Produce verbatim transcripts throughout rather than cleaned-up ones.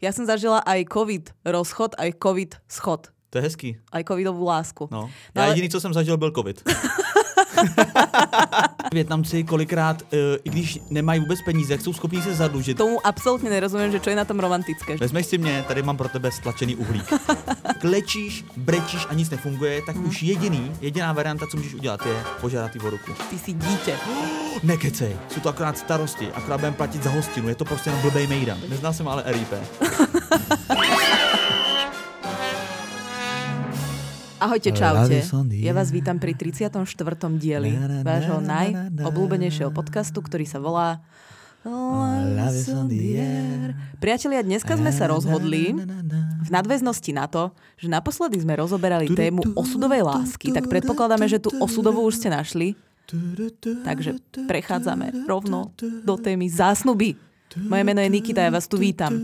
Ja som zažila aj covid rozchod, aj covid schod. To je hezký. Aj covidovú lásku. No. No Já ale... jediný, co jsem zažil, byl covid. Vietnamci kolikrát, i když nemají vůbec peníze, jak jsou schopní se zadlužit. Tomu absolútne nerozumiem, že čo je na tom romantické. Vezmeš si mě, tady mám pro tebe stlačený uhlík. Klečíš, brečíš a nic nefunguje, tak mm. už jediný, jediná varianta, co můžeš udělat, je požádat ty o ruku. Ty si dítě. Oh, nekecej, jsou to akorát starosti, akorát budeme platit za hostinu, je to prostě jenom blbej mejdan. Neznal jsem ale R I P. Ahojte, čaute. Ja vás vítam pri tridsiatom štvrtom dieli vášho najobľúbenejšieho podcastu, ktorý sa volá Love is on the air. Priatelia, dneska sme sa rozhodli v nadväznosti na to, že naposledy sme rozoberali tému osudovej lásky, tak predpokladáme, že tú osudovú už ste našli. Takže prechádzame rovno do témy zásnuby. Moje jméno je Nikita, já vás tu vítám.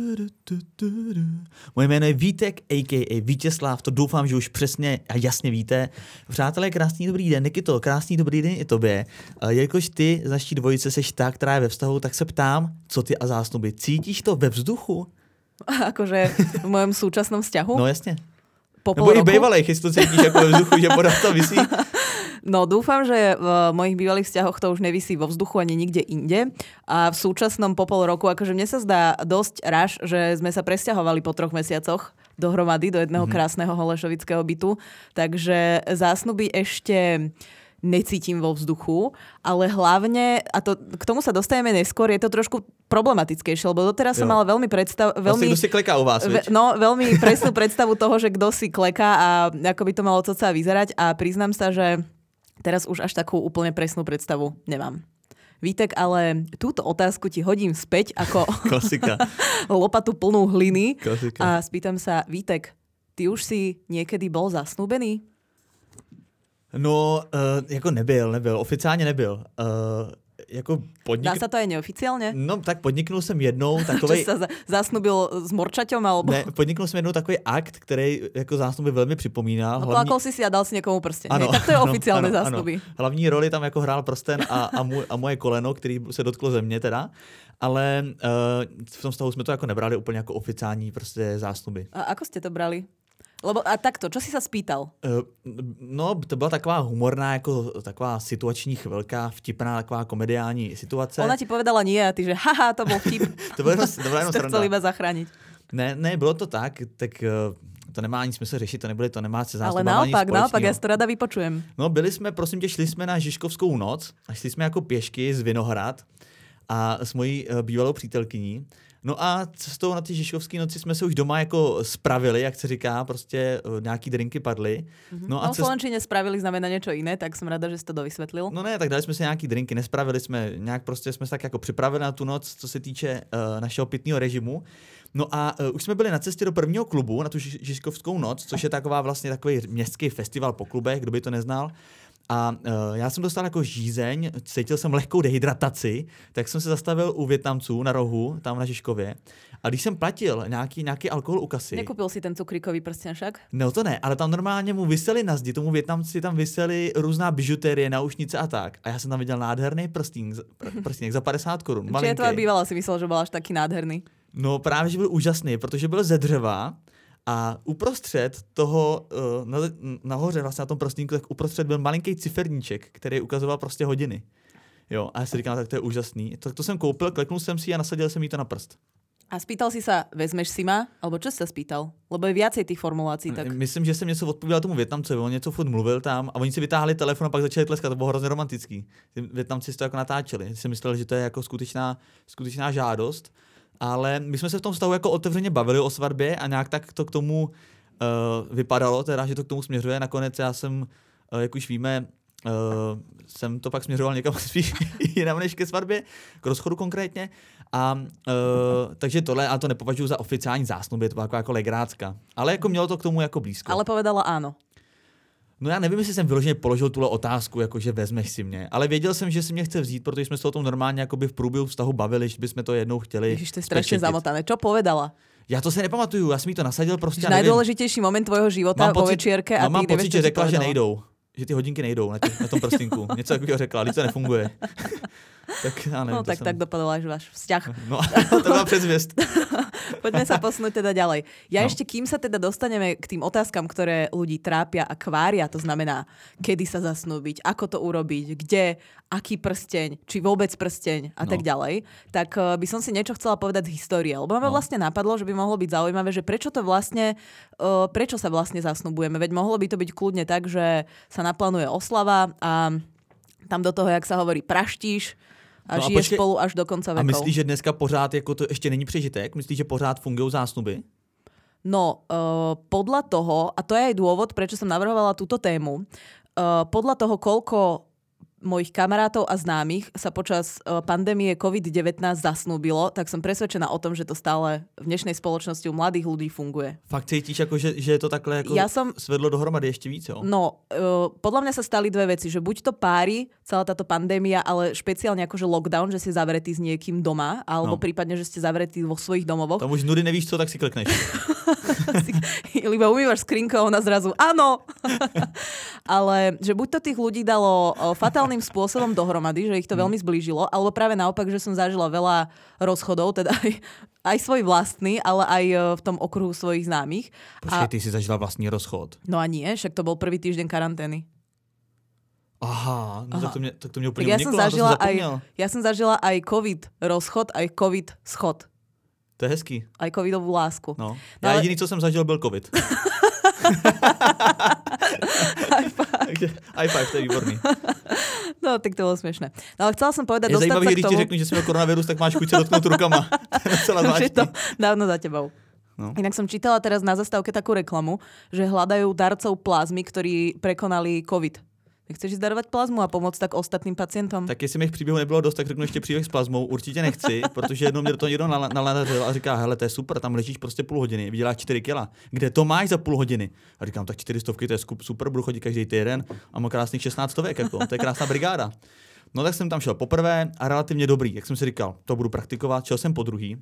Moje jméno je Vítek, a ká a Vítězslav, to doufám, že už přesně a jasně víte. Přátelé, krásný dobrý den, Nikito, krásný dobrý den i tobě. Jelikož ty z naší dvojice seš ta, která je ve vztahu, tak se ptám, co ty a zásnuby. Cítíš to ve vzduchu? Akože v mojom súčasnom vzťahu? No jasně. Po Nebo i bejvalej, jestli to cítíš jako ve vzduchu, že pořád to visí. No dúfam, že v mojich bývalých vzťahoch to už nevisí vo vzduchu ani nikde inde. A v súčasnom po pol roku, akože mne sa zdá dosť raž, že sme sa presťahovali po troch mesiacoch dohromady do jedného mm-hmm. krásneho holešovického bytu. Takže zásnuby ešte necítim vo vzduchu, ale hlavne, a to, k tomu sa dostaneme neskôr, je to trošku problematickejšie, lebo doteraz jo. som mala veľmi predstav... Veľmi, vlastne, kto si kleká u vás, ve, No, veľmi presnú predstavu toho, že kto si kleká a ako by to malo cca vyzerať a priznám sa, že teraz už až takú úplne presnú predstavu nemám. Vítek, ale túto otázku ti hodím späť ako klasika. lopatu plnú hliny. Klasika. A spýtam sa, Vítek, ty už si niekedy bol zasnúbený? No, uh, jako nebyl, nebyl. Oficiálně nebyl. Uh, jako podnik... Dá sa to aj neoficiálne? No, tak podniknul jsem jednou takovej... Čo sa zasnubil s morčaťom, alebo... Ne, podniknul jsem jednou takový akt, který jako zásnuby velmi připomínal. No, hlavní... plakol si si a dal si někomu prsten. Ano, tak to je ano, oficiálne ano, zásnuby. Ano. Hlavní roli tam jako hrál prsten a, a, můj, a moje koleno, který se dotklo země teda. Ale uh, v tom stavu jsme to jako nebrali úplně jako oficiální prostě zásnuby. A ako ste to brali? Lebo a takto, čo si sa spýtal? Uh, no, to byla taková humorná, jako taková situační chvilka, vtipná, taková komediální situace. Ona ti povedala nie a ty, že haha, to bol vtip. To bylo jenom, to bylo jenom sranda. Chcel iba zachrániť. Ne, ne, bylo to tak, tak uh, to nemá ani smysl řešit, to nebude, to nemá se zásnubama Ale naopak, ani naopak, já si to rada vypočujem. No, byli jsme, prosím tě, šli jsme na Žižkovskou noc a šli jsme jako pěšky z Vinohrad a s mojí uh, bývalou přítelkyní. No a cestou na ty Žižkovské noci jsme se už doma jako spravili, jak se říká, prostě uh, nějaký drinky padly. Mm-hmm. No a no, v Slovenčine cest... spravili znamená něco jiné, tak jsem ráda, že jsi to dovysvětlil. No ne, tak dali jsme si nějaký drinky, nespravili jsme, nějak prostě jsme se tak jako připravili na tu noc, co se týče uh, našeho pitného režimu. No a uh, už jsme byli na cestě do prvního klubu, na tu Žižkovskou noc, což je taková vlastně takový městský festival po klubech, kdo by to neznal. A uh, já jsem dostal jako žízeň, cítil jsem lehkou dehydrataci, tak jsem se zastavil u Vietnamců na rohu, tam na Žižkově. A když jsem platil nějaký, nějaký alkohol u kasy... Nekupil si ten cukríkový prsten však? No to ne, ale tam normálně mu viseli na zdi, tomu Vietnamci tam viseli různá bižuterie, náušnice a tak. A já jsem tam viděl nádherný prstín, prstínek za padesát korun. Či je tvoja bývala si myslel, že byl až taky nádherný? No právě, že byl úžasný, protože byl ze dřeva. A uprostřed toho, na, nahoře vlastně na tom prostínku, tak uprostřed byl malinký ciferníček, který ukazoval prostě hodiny. Jo, a já si říkám, tak to je úžasný. Tak to jsem koupil, kleknul jsem si a nasadil jsem jí to na prst. A spýtal si sa, vezmeš si ma? Alebo čo si sa spýtal? Lebo je viacej tých formulácií. Tak... Myslím, že jsem něco odpověděl tomu Vietnamcovi, on něco furt mluvil tam a oni si vytáhli telefon a pak začali tleskat, to bylo hrozně romantický. Ty Vietnamci si to jako natáčeli, si mysleli, že to je jako skutečná, skutečná žádost. Ale my jsme se v tom vztahu jako otevřeně bavili o svatbě a nějak tak to k tomu uh, vypadalo, teda, že to k tomu směřuje. Nakonec já jsem, uh, jak už víme, uh, jsem to pak směřoval někam spíš jinam než ke svatbě, k rozchodu konkrétně. A uh, takže tohle, ale to nepovažuji za oficiální zásnuby, to byla jako, jako legrácka. Ale jako mělo to k tomu jako blízko. Ale povedala áno. No já nevím, jestli jsem vyloženě položil tuhle otázku, jakože vezmeš si mě, ale věděl jsem, že si mě chce vzít, protože jsme se o tom normálně jakoby v průběhu vztahu bavili, že bychom to jednou chtěli. Ježiš, to je strašně zamotané. Čo povedala? Já to si nepamatuju, já jsem jí to nasadil prostě. Nejdůležitější moment tvojho života po večírke a no, mám ty pocit, že řekla, že nejdou. Že ty hodinky nejdou na, tě, na tom prstinku. Něco takového řekla, ale to nefunguje. Tak já nevím, no tak, jsem... tak dopadl až váš vzťah. No to byla předzvěst. Poďme sa posunúť teda ďalej. Ja no. ešte, kým sa teda dostaneme k tým otázkam, ktoré ľudí trápia a kvária, to znamená, kedy sa zasnúbiť, ako to urobiť, kde, aký prsteň, či vôbec prsteň a no. tak ďalej, tak uh, by som si niečo chcela povedať z histórie. Lebo ma no. vlastne napadlo, že by mohlo byť zaujímavé, že prečo to vlastne, uh, prečo sa vlastne zasnubujeme. Veď mohlo by to byť kľudne tak, že sa naplánuje oslava a tam do toho, jak sa hovorí, praštíš, a no žije a spolu až do konca vekov. A myslíš, že dneska pořád jako to ještě není přežitek? Myslíš, že pořád fungují zásnuby? No, uh, podľa toho, a to je aj dôvod, prečo som navrhovala túto tému, uh, podľa toho, koľko mojich kamarátov a známych sa počas uh, pandémie covid devätnásť zasnúbilo, tak som presvedčená o tom, že to stále v dnešnej spoločnosti u mladých ľudí funguje. Fakt cítiš, ako, že, že je to takhle jako ja som, svedlo dohromady ešte víc, jo? No, uh, podľa mňa sa stali dve veci, že buď to pári, celá táto pandémia, ale špeciálne akože lockdown, že si zavretý s niekým doma, alebo no. prípadne, že ste zavretí vo svojich domovoch. Tam už nudy nevíš co, tak si klikneš. Iba umývaš skrinku a ona zrazu áno. Ale že buď to tých ľudí dalo fatálnym spôsobom dohromady, že ich to veľmi zblížilo, alebo práve naopak, že som zažila veľa rozchodov, teda aj, aj svoj vlastný, ale aj v tom okruhu svojich známych. Počkej, ty si zažila vlastný rozchod. No a nie, však to bol prvý týždeň karantény. Aha, no Aha. tak to mne, tak to mne úplne ja uniklo, som zažila to som aj, ja som zažila aj covid rozchod, aj covid schod. To je hezký. Aj covidovú lásku. No. no ja ale... jediný, co jsem zažil, byl covid. High five. High five, to je výborný. No, tak to bolo smiešné. No ale chcela som povedať, je dostať sa k tomu... Je zajímavý, když ti řeknu, že si měl koronavírus, tak máš chuť sa dotknúť rukama. Už je to dávno za tebou. No. Inak som čítala teraz na zastávke takú reklamu, že hľadajú darcov plazmy, ktorí prekonali covid. Chceš ísť darovať plazmu a pomôcť tak ostatným pacientom? Tak jestli mých příběhů nebylo dost, tak řeknu ještě příběh s plazmou. Určitě nechci, protože jednou mě do toho někdo naladařil a říká, hele, to je super, tam ležíš prostě půl hodiny, vyděláš čtyři kila. Kde to máš za půl hodiny? A říkám, tak čtyři stovky, to je super, budu chodit každý týden a mám krásných šestnáct stovek, jako, to je krásná brigáda. No tak jsem tam šel poprvé a relativně dobrý, jak jsem si říkal, to budu praktikovat, šel jsem po druhý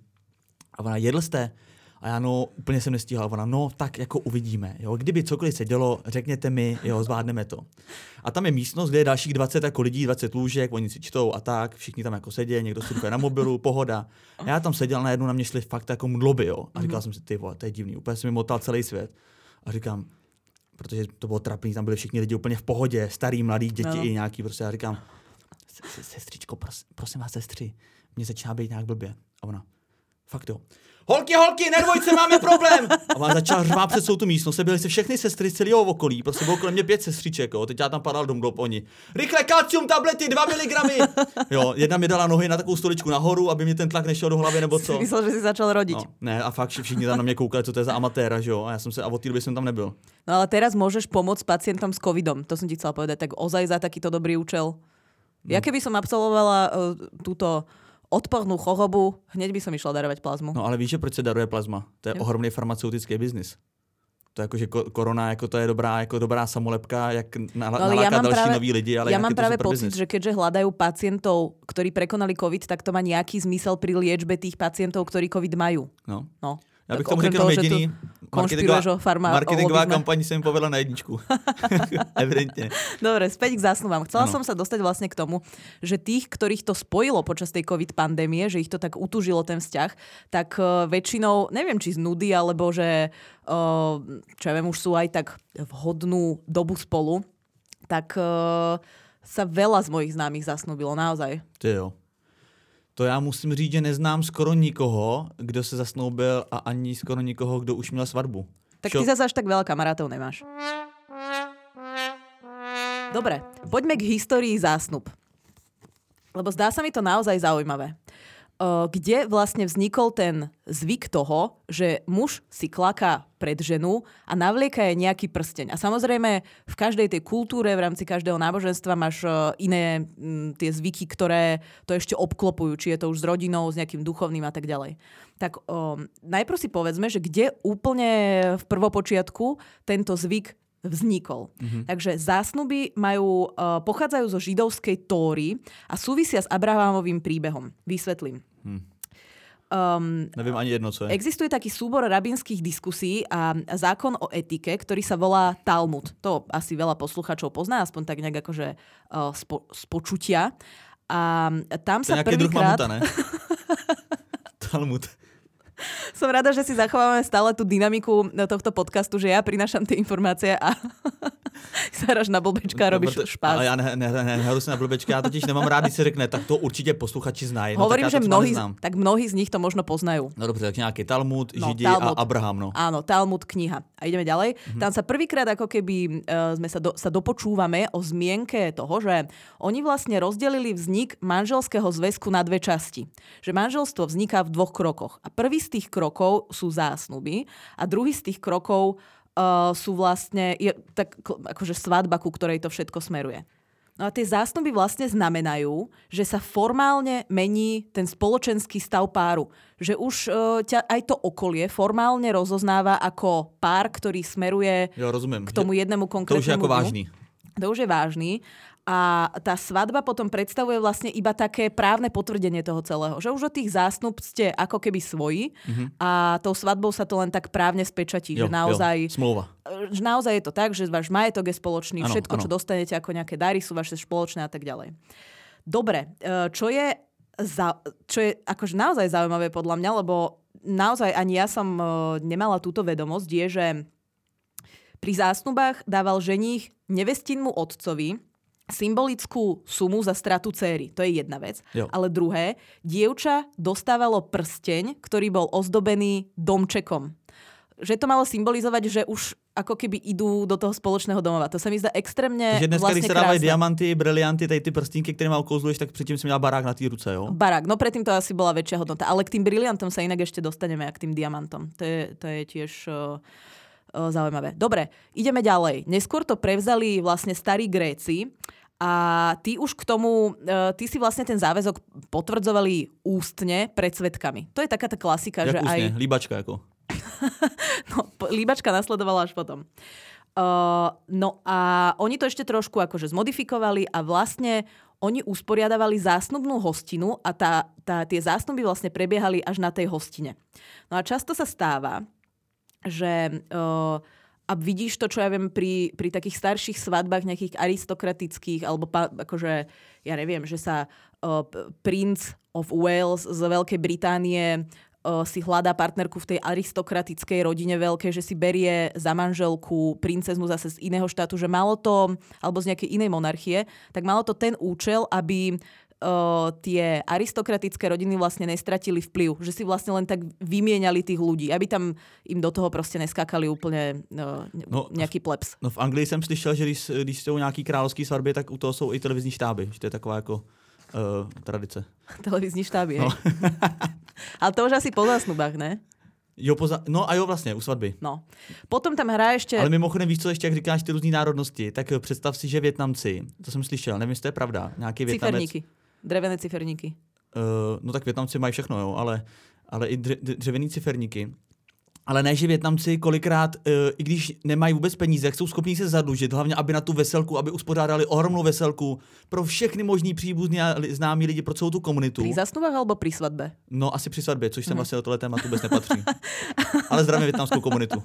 a ona, jedl jste? A já no, úplně jsem nestíhal. Ona, no, tak jako uvidíme. Jo. Kdyby cokoliv se dělo, řekněte mi, jo, zvládneme to. A tam je místnost, kde je dalších dvacet jako lidí, dvacet lůžek, oni si čtou a tak, všichni tam jako sedí, někdo surfuje na mobilu, pohoda. A já tam seděl, najednou na mě šly fakt jako mdloby, jo. A říkal mm-hmm. jsem si, ty vole, to je divný, úplně jsem mi motal celý svět. A říkám, protože to bylo trapný, tam byli všichni lidi úplně v pohodě, starý, mladý, děti no. i nějaký, prostě já říkám, sestřičko, pros, prosím vás, sestři, mě začíná být nějak blbě. A ona, fakt jo. Holky, holky, nebojte, máme problém! A ona začala řvát před celou tu místnost. Byly se všechny sestry z celého okolí. Prostě bylo kolem mě pět sestřiček, jo. Teď já tam padal dom dop oni. Rychle kalcium tablety, dva miligramy! Jo, jedna mi dala nohy na takovou stoličku nahoru, aby mi ten tlak nešel do hlavy nebo co. Myslel, že si začal rodiť. No, ne, a fakt všichni tam na mě koukali, co to je za amatéra, že jo. A já jsem se, a od té doby jsem tam nebyl. No ale teraz môžeš pomôcť pacientom s covidom. To som ti chcela povedať, tak ozaj za takýto dobrý účel. No. Ja keby som absolvovala uh, túto odpornú chorobu, hneď by som išla darovať plazmu. No ale víš, že proč se daruje plazma? To je jo. ohromný farmaceutický biznis. To je jako, že korona, jako to je dobrá, jako dobrá samolepka, jak naláká no, ja další práve, noví lidi, ale ja mám práve pocit, business. Že keďže hľadajú pacientov, ktorí prekonali covid, tak to má nejaký zmysel pri liečbe tých pacientov, ktorí covid majú. No. No. Já bych tomu řekl jediný, marketingová, farma, marketingová kampaň se mi povedla na jedničku. Evidentne. Dobre, späť k zásnubám. Chcela no. som sa dostať vlastne k tomu, že tých, ktorých to spojilo počas tej covid pandémie, že ich to tak utužilo ten vzťah, tak uh, väčšinou, neviem či z nudy, alebo že uh, čo ja viem, už sú aj tak vhodnú dobu spolu, tak uh, sa veľa z mojich známych zasnúbilo, naozaj. Ty jo. To já musím říct, že neznám skoro nikoho, kdo se zasnoubil a ani skoro nikoho, kdo už měl svatbu. Tak Čo? Ty zase až tak veľa kamarátov nemáš. Dobre, poďme k histórii zásnub. Lebo zdá sa mi to naozaj zaujímavé. Kde vlastne vznikol ten zvyk toho, že muž si klaká pred ženu a navlieka je nejaký prsteň. A samozrejme v každej tej kultúre, v rámci každého náboženstva máš iné m, tie zvyky, ktoré to ešte obklopujú, či je to už s rodinou, s nejakým duchovným a tak ďalej. Tak um, najprv si povedzme, že kde úplne v prvopočiatku tento zvyk vznikol. Mm-hmm. Takže zásnuby majú, uh, pochádzajú zo židovskej Tóry a súvisia s Abrahamovým príbehom. Vysvetlím. Hmm. Um, Neviem ani jedno, co je. Existuje taký súbor rabínskych diskusí a zákon o etike, ktorý sa volá Talmud. To asi veľa posluchačov pozná, aspoň tak nejak akože uh, spo, z počutia. A tam to sa prvýkrát... To je nejaký druh mamuta, ne? Talmud. Som rada, že si zachovávame stále tú dynamiku tohto podcastu, že ja prinášam tie informácie a zaráš na blbečka a robíš no, špás. Ale ja ne, ne, ne, nehru si na blbečka, ja totiž nemám rád, když se řekne, tak to určite posluchači znají. No, hovorím, tak že mnohí, tak mnohí z nich to možno poznajú. No dobře, tak nejaký Talmud, no, Židi Talmud. A Abraham. No. Áno, Talmud, kniha. A ideme ďalej. Mm-hmm. Tam sa prvýkrát ako keby uh, sme sa, do, sa dopočúvame o zmienke toho, že oni vlastne rozdelili vznik manželského zväzku na dve časti. Že manželstvo vzniká v dvoch krokoch. A prvý z tých krokov sú zásnuby a druhý z tých krokov uh, sú vlastne je, tak, akože svadba, ku ktorej to všetko smeruje. No a tie zásnuby vlastne znamenajú, že sa formálne mení ten spoločenský stav páru. Že už uh, ťa aj to okolie formálne rozoznáva ako pár, ktorý smeruje jo, rozumiem. K tomu jednému konkrétnemu. To už je ako vážny. To už je vážny. A tá svadba potom predstavuje vlastne iba také právne potvrdenie toho celého. Že už od tých zásnub ste ako keby svoji mm-hmm. a tou svadbou sa to len tak právne spečatí. Jo, že naozaj, jo, smlouva. Že naozaj je to tak, že váš majetok je spoločný, ano, všetko, ano. čo dostanete ako nejaké dary, sú vaše spoločné a tak ďalej. Dobre, čo je, za, čo je akože naozaj zaujímavé podľa mňa, lebo naozaj ani ja som nemala túto vedomosť, je, že pri zásnubách dával ženích nevestinmu otcovi symbolickú sumu za stratu céry. To je jedna vec. Jo. Ale druhé, dievča dostávalo prsteň, ktorý bol ozdobený domčekom. Že to malo symbolizovať, že už ako keby idú do toho spoločného domova. To sa mi zdá extrémne Takže dneska, vlastne když se dávají krásne. diamanty, brilianty, tady ty prstínky, ktoré ma okouzluješ, tak předtím si měla barák na té ruce, jo? Barák. No predtým to asi bola väčšia hodnota. Ale k tým briliantom sa inak ešte dostaneme, a k tým diamantom. To je, to je tiež uh, uh, zaujímavé. Dobre, ideme ďalej. Neskôr to prevzali vlastne starí Gréci. A ty už k tomu, ty si vlastne ten záväzok potvrdzovali ústne pred svedkami. To je taká tá klasika, Jak že ústne? aj... Líbačka ako? No, líbačka nasledovala až potom. Uh, no a oni to ešte trošku akože zmodifikovali a vlastne oni usporiadavali zásnubnú hostinu a tá, tá, tie zásnuby vlastne prebiehali až na tej hostine. No a často sa stáva, že... Uh, a vidíš to, čo ja viem, pri, pri takých starších svadbách nejakých aristokratických, alebo pa, akože, ja neviem, že sa uh, Prince of Wales z Veľkej Británie uh, si hľadá partnerku v tej aristokratickej rodine veľkej, že si berie za manželku princeznu zase z iného štátu, že malo to, alebo z nejakej inej monarchie, tak malo to ten účel, aby Uh, tie aristokratické rodiny vlastne nestratili vplyv. Že si vlastne len tak vymieniali tých ľudí, aby tam im do toho prostě neskákali úplně uh, no, nějaký plebs. No v Anglii jsem slyšel, že když, když jsou nějaký královský svatby, tak u toho jsou i televizní štáby. Že to je taková jako uh, tradice. Televizní štáby, no. Ale to už asi po zásnubách, ne? Jo, poza... no a jo, vlastně, u svatby. No. Potom tam hraje ještě... Ale mimochodem, víš co, ještě jak říkáš ty různý národnosti, tak představ si, že Vietnamci, to jsem slyšel, nevím, jestli to je pravda, nějaký Vietnamec... Ciferníky. Drevené ciferníky. Uh, no tak Vietnamci mají všechno, jo, ale, ale i dře, dřevěný ciferníky. Ale ne, že Vietnamci kolikrát, uh, i když nemají vůbec peníze, jak jsou schopní se zadlužit, hlavně aby na tu veselku, aby uspořádali ohromnou veselku pro všechny možný příbuzní a známí lidi, pro celou tu komunitu. Pri zásnubách alebo pri svatbe? No asi při svatbě, což sem mm. vlastně do tohle tématu vůbec nepatří. Ale zdravím vietnamskou komunitu.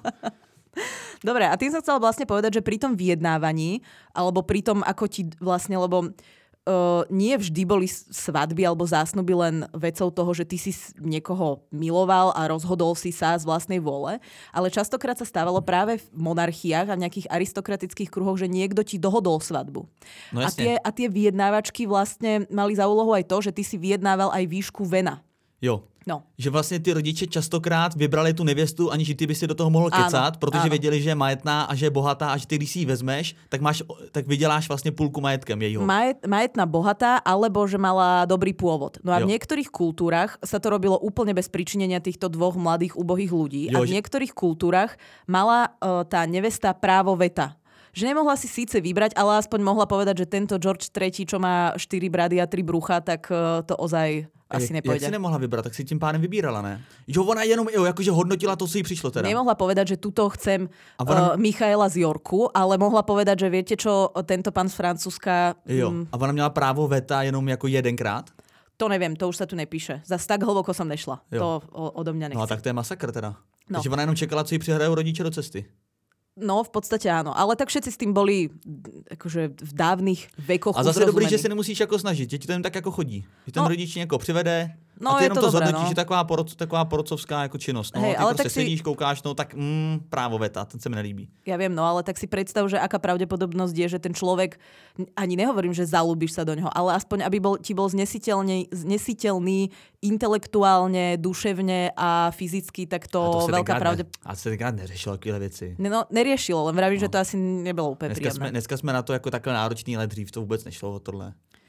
Dobre, a tým som chcela vlastne povedať, že pri tom vyjednávaní, alebo pri tom, ako ti vlastne, lebo Uh, nie vždy boli svadby alebo zásnuby len vecou toho, že ty si niekoho miloval a rozhodol si sa z vlastnej vôle, ale častokrát sa stávalo práve v monarchiách a v nejakých aristokratických kruhoch, že niekto ti dohodol svadbu. No a, tie, a tie vyjednávačky vlastne mali za úlohu aj to, že ty si vyjednával aj výšku vena. Jo. No. Že vlastně ty rodiče častokrát vybrali tu nevěstu, aniž ty by si do toho mohl kecat, protože ano. věděli, že je majetná a že je bohatá a že ty, když si ji vezmeš, tak, máš, tak vyděláš vlastně půlku majetkem jejího. Majet, majetná, bohatá, alebo že mala dobrý pôvod. No a jo. v niektorých kultúrach sa to robilo úplne bez pričinenia týchto dvoch mladých, ubohých ľudí. Jo, a v že... niektorých kultúrach mala uh, tá nevesta právo veta. Že nemohla si síce vybrať, ale aspoň mohla povedať, že tento George tretí, čo má štyri brady a tri brucha, tak uh, to ozaj asi jak, nepojde. Jak si nemohla vybrat, tak si tím pádem vybírala, ne? Jo, ona jenom jo, jakože hodnotila to, co jí přišlo teda. Nemohla povedať, že tuto chcem ona... uh, Michaela z Yorku, ale mohla povedať, že viete čo, tento pán z Francúzska... Jo, mm, a ona měla právo veta jenom jako jedenkrát? To neviem, to už sa tu nepíše. Zas tak hlboko som nešla. Jo. To o, odo mňa nechce. No a tak to je masakr teda. No. Takže ona jenom čekala, co jí přihrajou rodiče do cesty. No, v podstate áno. Ale tak všetci s tým boli akože v dávnych vekoch A zase uzrozumení. dobrý, že se nemusíš jako snažit, že ti to jen tak jako chodí. Že ten no. rodič někoho přivede, No, a ty je jenom to, to dobré, zhodnotíš, no. že taková, poroc, taková porocovská jako činnost. No, Hej, ty ale prostě tak si... sedíš, koukáš, no tak mm, právo veta, ten se mi nelíbí. Ja viem, no ale tak si predstav, že aká pravdepodobnosť je, že ten človek, ani nehovorím, že zalúbiš sa do neho, ale aspoň, aby bol, ti bol znesiteľný intelektuálne, duševne a fyzicky, tak to, to veľká pravdepodobnosť. A to se tenkrát neřešilo takové věci. No, neriešilo, len vravím, no. že to asi nebylo úplně dneska príjemné. Jsme, dneska jsme na to jako takhle náročný, ale dřív to vůbec nešlo o tohle.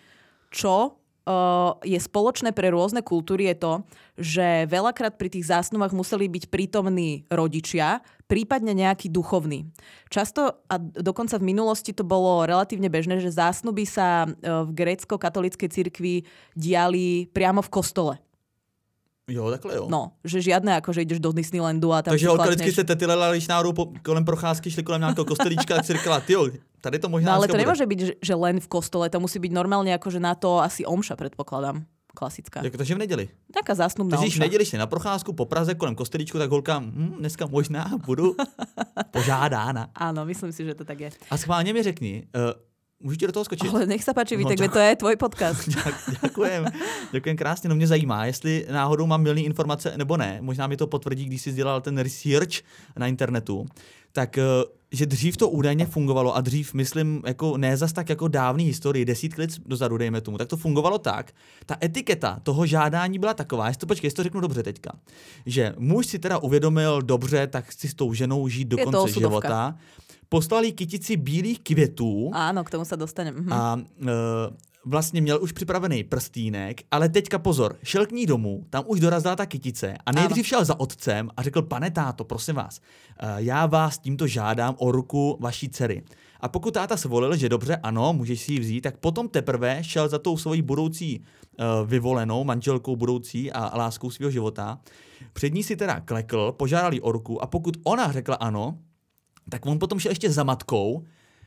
Čo uh, je spoločné pre rôzne kultúry je to, že veľakrát pri tých zásnubách museli byť prítomní rodičia, prípadne nejaký duchovný. Často a dokonca v minulosti to bolo relatívne bežné, že zásnuby sa v grécko-katolíckej cirkvi diali priamo v kostole. Jo, takhle jo. No, že žiadne ako, že ideš do Disneylandu a tam takže si holka chlapneš. vždycky se tety lela, když náhodou po, kolem procházky šli kolem nějakého kostelíčka, tak si říkala, tyjo, tady to možná no, ale to bude. nemôže byť, že, že len v kostole, to musí byť normálne akože na to asi omša, predpokladám. Klasická. Jak, takže v neděli. Taká zásnubná omša. Když v neděli šli na procházku po Praze kolem kostelíčku, tak holka, hm, dneska možná budu požádána. Áno, myslím si, že to tak je. A schválně mi řekni, uh, můžu ti do toho skočit? Ale nech sa páči, No, Vítek, to je tvoj podcast. Děkujem, děkujem krásně. No mě zajímá, jestli náhodou mám mylný informace nebo ne. Možná mi to potvrdí, když jsi dělal ten research na internetu. Tak, že dřív to údajně fungovalo a dřív, myslím, jako ne zas tak jako dávný historii, desítky let dozadu, dejme tomu, tak to fungovalo tak. Ta etiketa toho žádání byla taková, jestli to, počkej, jestli to řeknu dobře teďka, že muž si teda uvědomil, dobře, tak chci s tou ženou žít do je konce života. Poslali kytici bílých květů. Áno, k tomu sa dostanem. Mhm. A e, vlastně měl už připravený prstínek, ale teďka pozor, šel k ní domů, tam už dorazila ta kytice a nejdřív šel za otcem a řekl, pane táto, prosím vás, já vás tímto žádám o ruku vaší dcery. A pokud táta svolil, že dobře, ano, můžeš si ji vzít, tak potom teprve šel za tou svojí budoucí uh, vyvolenou manželkou budoucí a, a láskou svého života. Před ní si teda klekl, požádal jí o ruku a pokud ona řekla ano, tak on potom šel ještě za matkou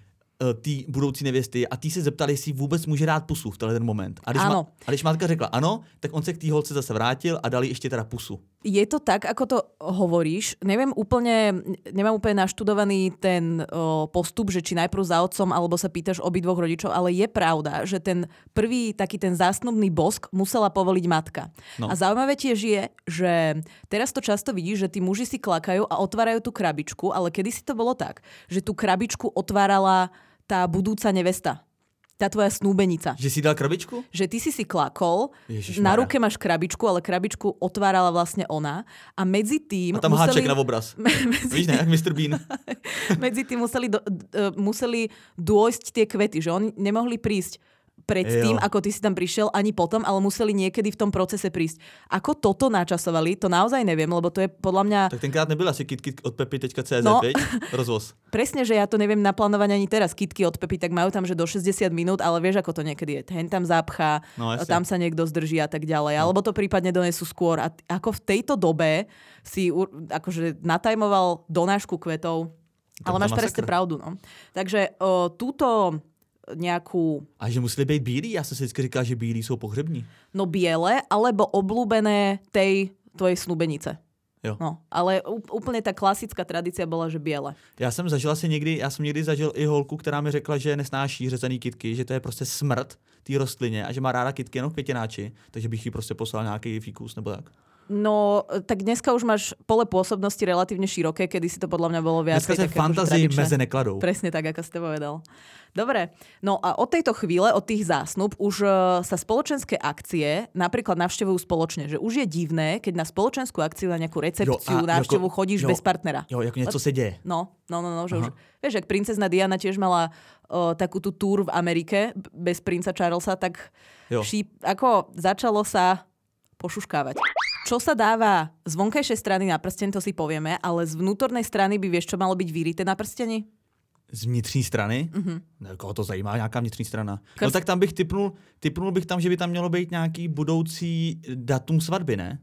té budoucí nevěsty a tí se zeptali, jestli vůbec může dát pusu v tenhle ten moment. A když, ma, a když matka řekla ano, tak on se k té holce zase vrátil a dal jí ještě teda pusu. Je to tak, ako to hovoríš. Neviem úplne, nemám úplne naštudovaný ten o, postup, že či najprv za otcom, alebo sa pýtaš obidvoch rodičov, ale je pravda, že ten prvý taký ten zásnubný bosk musela povoliť matka. No. A zaujímavé tiež je, že teraz to často vidíš, že tí muži si klakajú a otvárajú tú krabičku, ale kedysi to bolo tak, že tú krabičku otvárala tá budúca nevesta. Tá tvoja snúbenica. Že si dal krabičku? Že ty si si klakol, Ježišmarja. Na ruke máš krabičku, ale krabičku otvárala vlastne ona a medzi tým... A tam museli... háček na obraz. medzi... Víš ne, jak mister Bean. medzi tým museli, do, d, museli dôjsť tie kvety, že oni nemohli prísť predtým, ako ty si tam prišiel, ani potom, ale museli niekedy v tom procese prísť. Ako toto načasovali, to naozaj neviem, lebo to je podľa mňa... Tak tenkrát nebyla asi kitkit od pepi tečka cé zet, no, veď? Rozvoz. Presne, že ja to neviem naplánovať ani teraz. Kitky od Pepy, tak majú tam, že do šesťdesiat minút, ale vieš, ako to niekedy je. Hen tam zapchá, no, tam sa niekto zdrží a tak ďalej. No. Alebo to prípadne donesú skôr. A t- ako v tejto dobe si akože natajmoval donášku kvetov. Ale máš presne pravdu. No. Takže o, túto... nejakú... A že museli být bílí? Já jsem si vždycky říkal, že bílí jsou pohřební. No biele, alebo oblúbené tej tvojej snúbenice. Jo. No, ale úplně ta klasická tradícia byla, že biele. Já jsem zažila si někdy, já jsem někdy zažil i holku, která mi řekla, že nesnáší řezaný kytky, že to je prostě smrt té rostlině a že má ráda kytky jenom květináči, takže bych jí prostě poslal nějaký fíkus nebo tak. No, tak dneska už máš pole pôsobnosti relatívne široké, kedy si to podľa mňa bolo viac. Dneska sa fantázii meze nekladou. Presne tak, ako ste povedal. Dobre, no a od tejto chvíle, od tých zásnub, už uh, sa spoločenské akcie napríklad navštevujú spoločne. Že už je divné, keď na spoločenskú akciu, na nejakú recepciu, návštevu jako, chodíš jo, bez partnera. Jo, jako něco se děje. No, no, no, no že už, vieš, jak princezna Diana tiež mala uh, takú tú túr v Amerike bez princa Charlesa, tak šíp, ako začalo sa pošuškávať. Čo sa dáva z vonkajšej strany na prsteň, to si povieme, ale z vnútornej strany by vieš, čo malo byť vyrité na prsteni? Z vnitřní strany? Mm-hmm. No, koho to zajímá, nějaká vnitřní strana. Krst... No tak tam bych typnul, typnul bych tam, že by tam mělo být nějaký budoucí datum svatby, ne?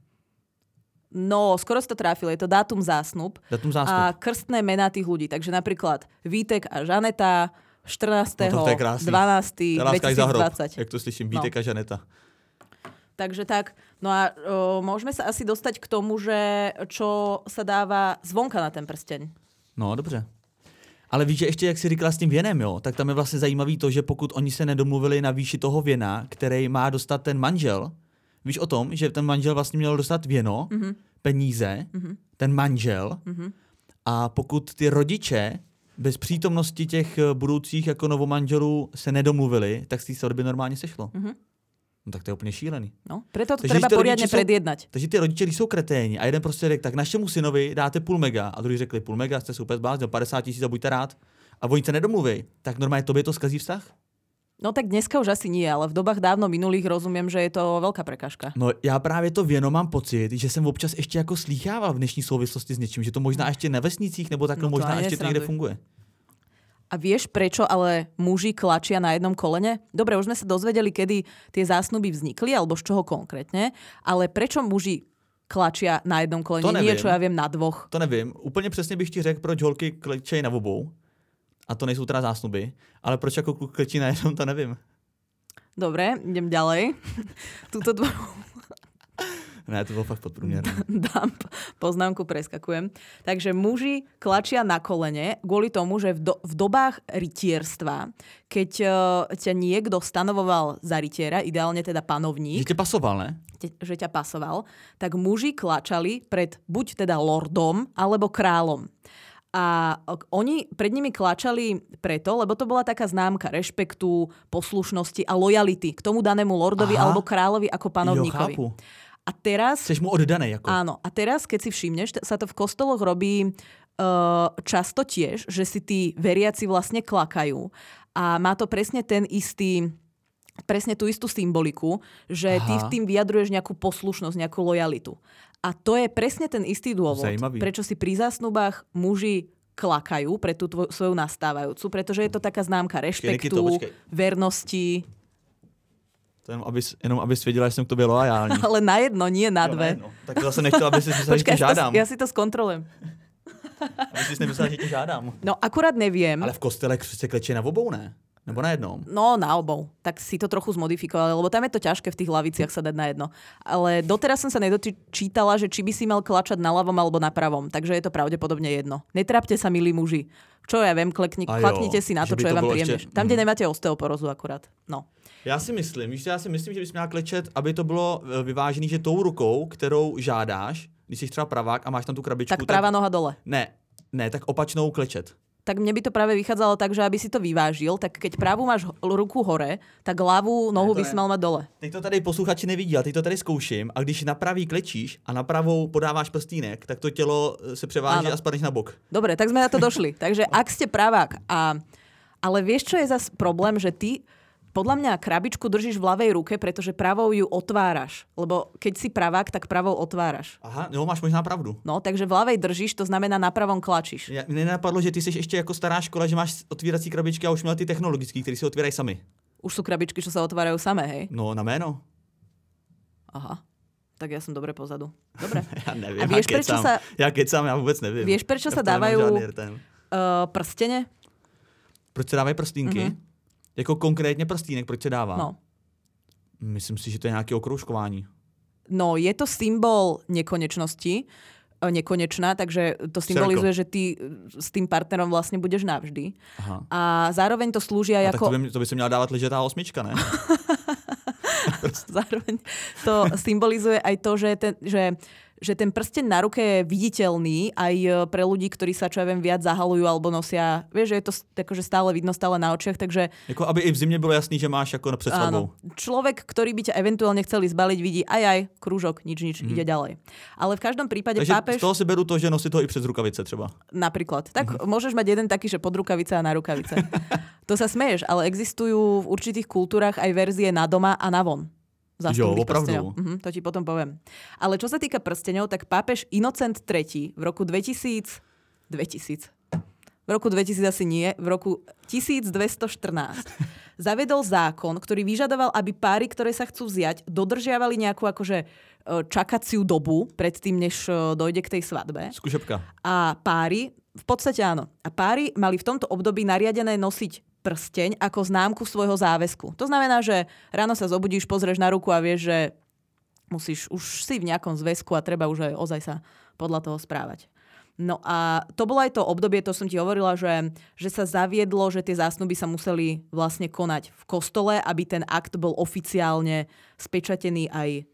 No, skoro si to trafil, je to dátum zásnub. Dátum zásnub. A krstné mená tých ľudí. Takže napríklad Vítek a Žaneta štrnásteho No dvanásteho dvetisícdvadsať. Jak to slyším, Vítek no. a Žaneta. Takže tak, no a o, môžeme sa asi dostať k tomu, že čo sa dáva zvonka na ten prsteň. No, dobře. Ale víš, že ještě, jak jsi říkala s tím věnem, jo, tak tam je vlastně zajímavý to, že pokud oni se nedomluvili na výši toho věna, který má dostat ten manžel Víš o tom, že ten manžel vlastně měl dostat věno, mm-hmm. peníze, mm-hmm. ten manžel mm-hmm. a pokud ty rodiče bez přítomnosti těch budoucích jako novomanželů se nedomluvili, tak z té svatby normálně sešlo. Mm-hmm. No tak to je úplně šílený. No, preto to takže treba poriadne predjednať. Takže ty rodiče, když jsou kreténi a jeden prostě řekl, tak našemu synovi dáte půl mega a druhý řekli půl mega, jste se úplně zbláznil, padesát tisíc a buďte rád a oni se nedomluví, tak normálně tobě to skazí vztah? No tak dneska už asi nie, ale v dobách dávno minulých rozumiem, že je to veľká prekážka. No já právě to věno mám pocit, že jsem občas ještě jako slýchával v dnešní souvislosti s něčím, že to možná ještě na vesnicích nebo takhle no možná ještě to někde funguje. A vieš, prečo ale muži klačia na jednom kolene? Dobre, už sme sa dozvedeli, kedy tie zásnuby vznikli, alebo z čoho konkrétne, ale prečo muži klačia na jednom kolene? Nie, čo ja viem, na dvoch. To nevím. Úplně přesně bych ti řekl, proč holky klečejí na obou. A to nejsou teda zásnuby. Ale proč jako kluk klečí na jednom, to nevím. Dobre, idem ďalej. Tuto dvo... Ne, to bolo fakt podprúmerné. Dám poznámku, preskakujem. Takže muži klačia na kolene kvôli tomu, že v, do, v dobách rytierstva, keď uh, ťa niekto stanovoval za rytiera, ideálne teda panovník. Že ťa pasoval, ne? Te, že ťa pasoval, tak muži klačali pred buď teda lordom, alebo kráľom. A oni pred nimi klačali preto, lebo to bola taká známka rešpektu, poslušnosti a lojality k tomu danému lordovi Aha. alebo kráľovi ako panovníkovi. Jo, chápu. A teraz... Seš mu oddanej. Ako. Áno. A teraz, keď si všimneš, sa to v kostoloch robí uh, často tiež, že si tí veriaci vlastne klakajú. A má to presne ten istý... presne tú istú symboliku, že Aha. ty v tým vyjadruješ nejakú poslušnosť, nejakú lojalitu. A to je presne ten istý dôvod, Zajímavý. Prečo si pri zásnubách muži klakajú pre tú tvoj, svoju nastávajúcu, pretože je to taká známka rešpektu, počkej, počkej. vernosti... To jenom, aby, jenom abys věděla, že jsem k tobě loajální. Ale na jedno, nie na dve. Jo, na tak to zase nechtěla, aby si myslela, že tě žádám. Ja si to zkontrolujem. Aby si nemyslela, že tě žádám. No akurát neviem. Ale v kostele se kleče na obou, ne? Nebo na jednom? No na obou. Tak si to trochu zmodifikovali, lebo tam je to ťažké v tých laviciach sa dať na jedno. Ale doteraz som sa nedočítala, že či by si mal klačať na ľavom alebo na pravom. Takže je to pravdepodobne jedno. Netrápte sa, milí muži. Čo ja viem, klekni, klaknite si na to, čo je vám príjemné. Ešte... Tam, kde nemáte osteoporózu akurát. No. Já si myslím, víš, já si myslím, že bys měla klečet, aby to bylo vyvážený, že tou rukou, kterou žádáš, když jsi třeba pravák a máš tam tu krabičku. Tak pravá tak... noha dole. Ne, ne, tak opačnou klečet. Tak mne by to práve vychádzalo tak, že aby si to vyvážil, tak keď pravú máš ruku hore, tak ľavú nohu by si mal mať dole. Teď to tady posluchači nevidí, ale teď to tady zkouším a když na pravý klečíš a na pravou podáváš prstínek, tak to tělo se převáží a spadneš na bok. Dobre, tak sme na to došli. Takže ak ste pravák a... Ale vieš, čo je zas problém, že ty podľa mňa krabičku držíš v ľavej ruke, pretože pravou ju otváraš. Lebo keď si pravák, tak pravou otváraš. Aha, no máš možná pravdu. No, takže v ľavej držíš, to znamená na pravom klačíš. Ja, mne nenapadlo, že ty jsi ještě jako stará škola, že máš otvírací krabičky a už měla ty technologické, které se otvírají sami. Už sú krabičky, čo sa otvárajú samé, hej? No, na jméno. Aha. Tak ja som dobre pozadu. Dobre. Ja neviem, a vieš, ja prečo kecam. sa... Ja kecam, ja vôbec neviem. Vieš, prečo ja sa dávajú uh, prstene? Proč se dávají prstínky? Mm-hmm. Jako konkrétně prstínek, proč se dává? No. Myslím si, že to je nějaké okroužkování. No, je to symbol nekonečnosti, nekonečná, takže to symbolizuje, že ty s tým partnerom vlastne budeš navždy. Aha. A zároveň to slúži aj ako... Tak to by, to by sa měla dávať ležetá osmička, ne? Zároveň to symbolizuje aj to, že ten, že, že ten prsteň na ruke je viditeľný aj pre ľudí, ktorí sa, čo ja viem, viac zahalujú alebo nosia. Vieš, že je to akože stále vidno, stále na očiach, takže... Jako aby i v zimě bylo jasný, že máš ako před svadbou. Človek, ktorý by ťa eventuálne chceli zbaliť, vidí aj aj, krúžok, nič, nič, mm. ide ďalej. Ale v každom prípade takže pápež... z toho si beru to, že nosí to i přes rukavice třeba. Napríklad. Tak mm-hmm. môžeš mať jeden taký, že pod rukavice a na rukavice. To sa smeješ, ale existujú v určitých kultúrach aj verzie na doma a na von. Jo, opravdu. Mhm, to ti potom poviem. Ale čo sa týka prsteňov, tak pápež Inocent tretí v roku dvetisíc... dvetisíc. V roku dvetisíc asi nie, v roku tisícdvestoštrnásť zavedol zákon, ktorý vyžadoval, aby páry, ktoré sa chcú vziať, dodržiavali nejakú akože čakaciu dobu predtým, než dojde k tej svadbe. Skúšobka. A páry, v podstate áno, a páry mali v tomto období nariadené nosiť prsteň ako známku svojho záväzku. To znamená, že ráno sa zobudíš, pozrieš na ruku a vieš, že musíš, už si v nejakom zväzku a treba už aj ozaj sa podľa toho správať. No a to bolo aj to obdobie, to som ti hovorila, že, že sa zaviedlo, že tie zásnuby sa museli vlastne konať v kostole, aby ten akt bol oficiálne spečatený aj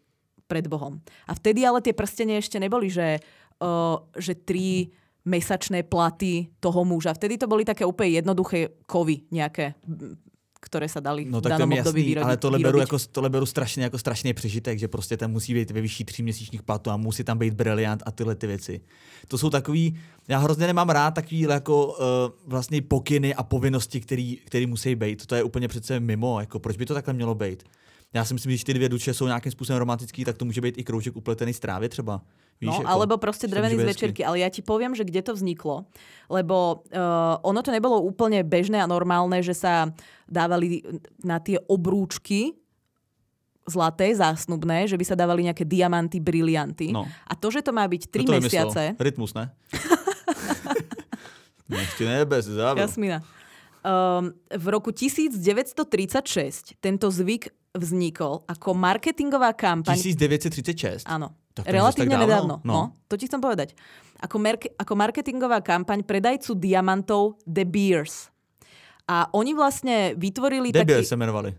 pred Bohom. A vtedy ale tie prstenie ešte neboli, že, uh, že tri mesačné platy toho muža. Vtedy to boli také úplne jednoduché kovy nejaké, ktoré sa dali no, v danom období vyrodiť. Ale tohle beru, jako, tohle beru strašně jako strašný přežitek, že prostě tam musí být ve vyšší tříměsíčních platů a musí tam být briliant a tyhle ty věci. To jsou takový, já hrozně nemám rád takový jako uh, vlastně pokyny a povinnosti, který, který musí být. To je úplně přece mimo, jako proč by to takhle mělo být? Já si myslím, že když ty dvě duše jsou nějakým způsobem romantický, tak to může být i kroužek upletený z trávy třeba. Víš, no, jako, alebo proste drevený z večerky. Ale ja ti poviem, že kde to vzniklo. Lebo uh, ono to nebolo úplne bežné a normálne, že sa dávali na tie obrúčky zlaté, zásnubné, že by sa dávali nejaké diamanty, brilianty. No. A to, že to má byť tri mesiace... Rytmus, ne? Ešte ne, bez záver. Jasmina. Um, v roku devätnásťtridsaťšesť tento zvyk vznikol ako marketingová kampaň... devätnásťtridsaťšesť? Áno. Relatívne nedávno. No. no, to ti chcem povedať. Ako, merke, ako marketingová kampaň predajcu diamantov De Beers. A oni vlastne vytvorili De taký... De Beers sa menovali.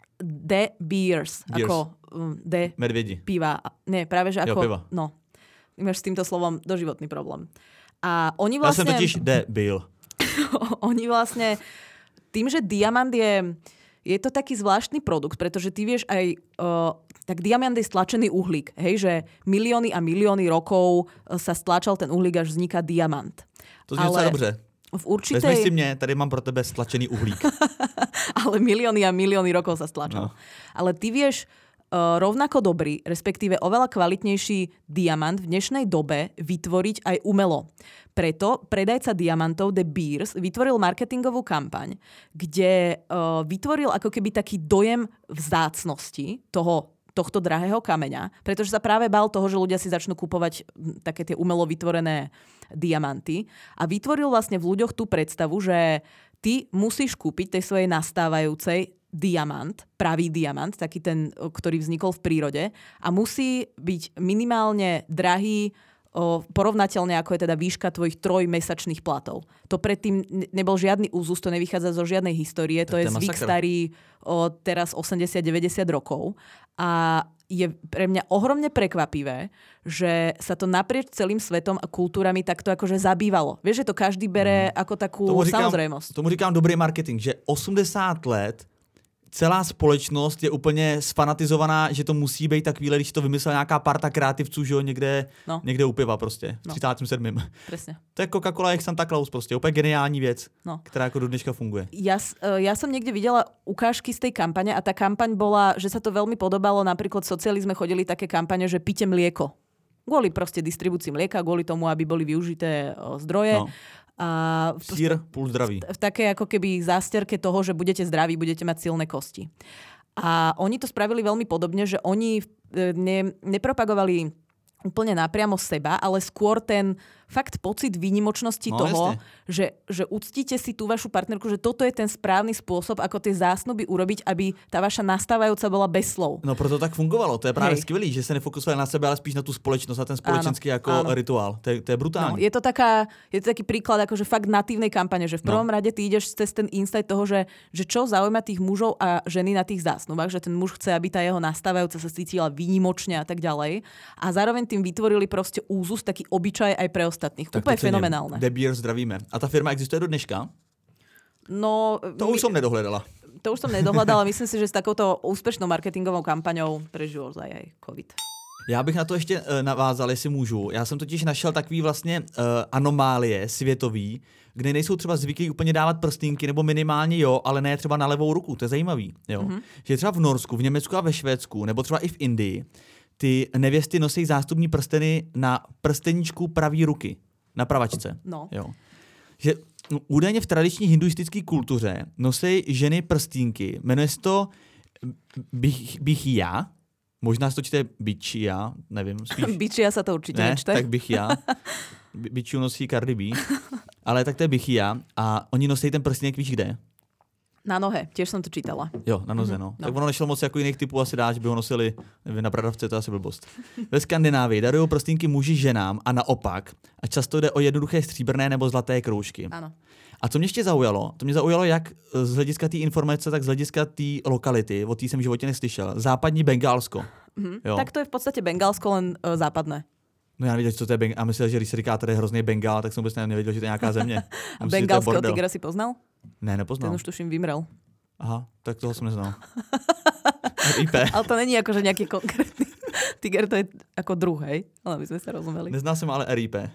De Beers. Beers. Ako um, De... Medvedi. Piva. Nie, práve že ako... Jo, piva. No. Máš s týmto slovom doživotný problém. A oni vlastne... Ja som totiž De Bill. Oni vlastne... Tým, že diamant je... Je to taký zvláštny produkt, pretože ty vieš aj... Uh, tak diamant je stlačený uhlík. Hej, že milióny a milióny rokov sa stlačal ten uhlík, až vzniká diamant. To znie sa dobře. V určitej... Vezmi si mne, tady mám pro tebe stlačený uhlík. Ale milióny a milióny rokov sa stlačal. No. Ale ty vieš uh, rovnako dobrý, respektíve oveľa kvalitnejší diamant v dnešnej dobe vytvoriť aj umelo. Preto predajca diamantov De Beers vytvoril marketingovú kampaň, kde uh, vytvoril ako keby taký dojem vzácnosti toho, tohto drahého kameňa, pretože sa práve bál toho, že ľudia si začnú kupovať také tie umelo vytvorené diamanty a vytvoril vlastne v ľuďoch tú predstavu, že ty musíš kúpiť tej svojej nastávajúcej diamant, pravý diamant, taký ten, ktorý vznikol v prírode a musí byť minimálne drahý o, porovnateľne ako je teda výška tvojich trojmesačných platov. To predtým nebol žiadny úzus, to nevychádza zo žiadnej histórie, to, to je zvyk starý o, teraz osemdesiat deväťdesiat rokov a je pre mňa ohromne prekvapivé, že sa to naprieč celým svetom a kultúrami takto akože zabývalo. Vieš, že to každý bere ako takú tomu říkám, samozrejmosť. Tomu říkám dobrý marketing, že osmdesát let celá společnost je úplně sfanatizovaná, že to musí být takovýhle, když to vymyslela nějaká parta kreativců, že jo, někde, no. někde u piva prostě, v třicátém sedmém Presne. To je Coca-Cola jak Santa Claus prostě, úplně geniální věc, no. která jako do dneška funguje. Ja, ja som niekde videla ukážky z tej kampane a tá kampaň bola, že sa to veľmi podobalo, napríklad v socializme chodili také kampane, že pite mlieko. Kvôli proste distribúcii mlieka, kvôli tomu, aby boli využité zdroje. No. A v, Sír půl zdraví. V také ako keby zásterke toho, že budete zdraví, budete mať silné kosti. A oni to spravili veľmi podobne, že oni ne, nepropagovali úplne napriamo seba, ale skôr ten fakt pocit výnimočnosti no, toho, že, že uctíte si tú vašu partnerku, že toto je ten správny spôsob, ako tie zásnuby urobiť, aby tá vaša nastávajúca bola bez slov. No proto tak fungovalo. To je právě skvělý, že se nefokusovali na sebe, ale spíš na tú společnosť a ten spoločenský áno, jako áno. rituál. To je, to je brutálne. No, je to taká, je to taký príklad akože fakt natívnej kampane, že v prvom no. rade ty ideš cez ten insight toho, že, že čo zaujíma tých mužov a ženy na tých zásnubách, že ten muž chce, aby tá jeho nastávajúca sa cítila výnimočne a tak ďalej. A zároveň tým vytvorili proste úzus, taký obyčaj aj pre ostatných. Tak úplne fenomenálne. De Beers zdravíme. A ta firma existuje do dneška? No, to už my, som nedohľadala. To už som nedohľadala. Myslím si, že s takouto úspešnou marketingovou kampaňou prežil aj aj COVID. Já bych na to ještě uh, navázal, jestli můžu. Já jsem totiž našel takový vlastně uh, anomálie světový, kde nejsou třeba zvyklí úplně dávat prstínky, nebo minimálně jo, ale ne třeba na levou ruku. To je zajímavý. Jo? Mm-hmm. Že třeba v Norsku, v Německu a ve Švédsku, nebo třeba i v Indii, ty nevěsty nosí zástupní prsteny na prsteníčku pravý ruky. Na pravačce. No. Jo. Že údajně v tradiční hinduistické kultuře nosí ženy prstínky. Jmenuje se to bych, bichia. Možná se to čte bičia, nevím. Spíš... Bičia sa to určitě ne, nečte. tak bichia. Bičiu nosí Cardi B. Ale tak to je bichia. A oni nosí ten prstínek, víš kde? Na nohe, tiež som to čítala. Jo, na noze, no. no. Tak ono nešlo moc jako jiných typů asi dát, že by ho nosili nevím, na bradavce, to je asi blbost. Ve Skandinávii darují prstínky muži ženám a naopak. A často jde o jednoduché stříbrné nebo zlaté kroužky. Ano. A co mě ještě zaujalo, to mě zaujalo jak z hlediska té informace, tak z hlediska té lokality, o té jsem v životě neslyšel. Západní Bengálsko. Mm-hmm. Tak to je v podstate Bengálsko, len uh, západné. No já nevěděl, co to je Bengál. A myslel, že když se říká, tady je hrozný Bengál, tak jsem vůbec nevěděl, že to je nějaká země. A bengálského tigra si poznal? Ne, nepoznal. Ten už tuším vymrel. Aha, tak toho jsem neznal. R I P. Ale to není akože nejaký konkrétny tiger, to je ako druh, hej? Ale my sme sa rozumeli. Neznal som ale R I P.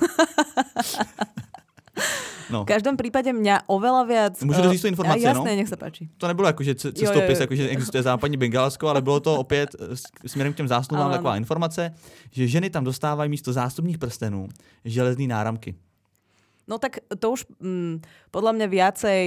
No. V každom prípade mňa oveľa viac... Můžu doříct tu informaci, jasné, no? Jasné, no? nech sa páči. To nebylo jako, že cestopis, jako, že existuje západní Bengálsko, ale bylo to opět směrem k těm zásnubám taková informace, že ženy tam dostávají místo zástupních prstenů železný náramky. No tak to už mm, podľa mňa viacej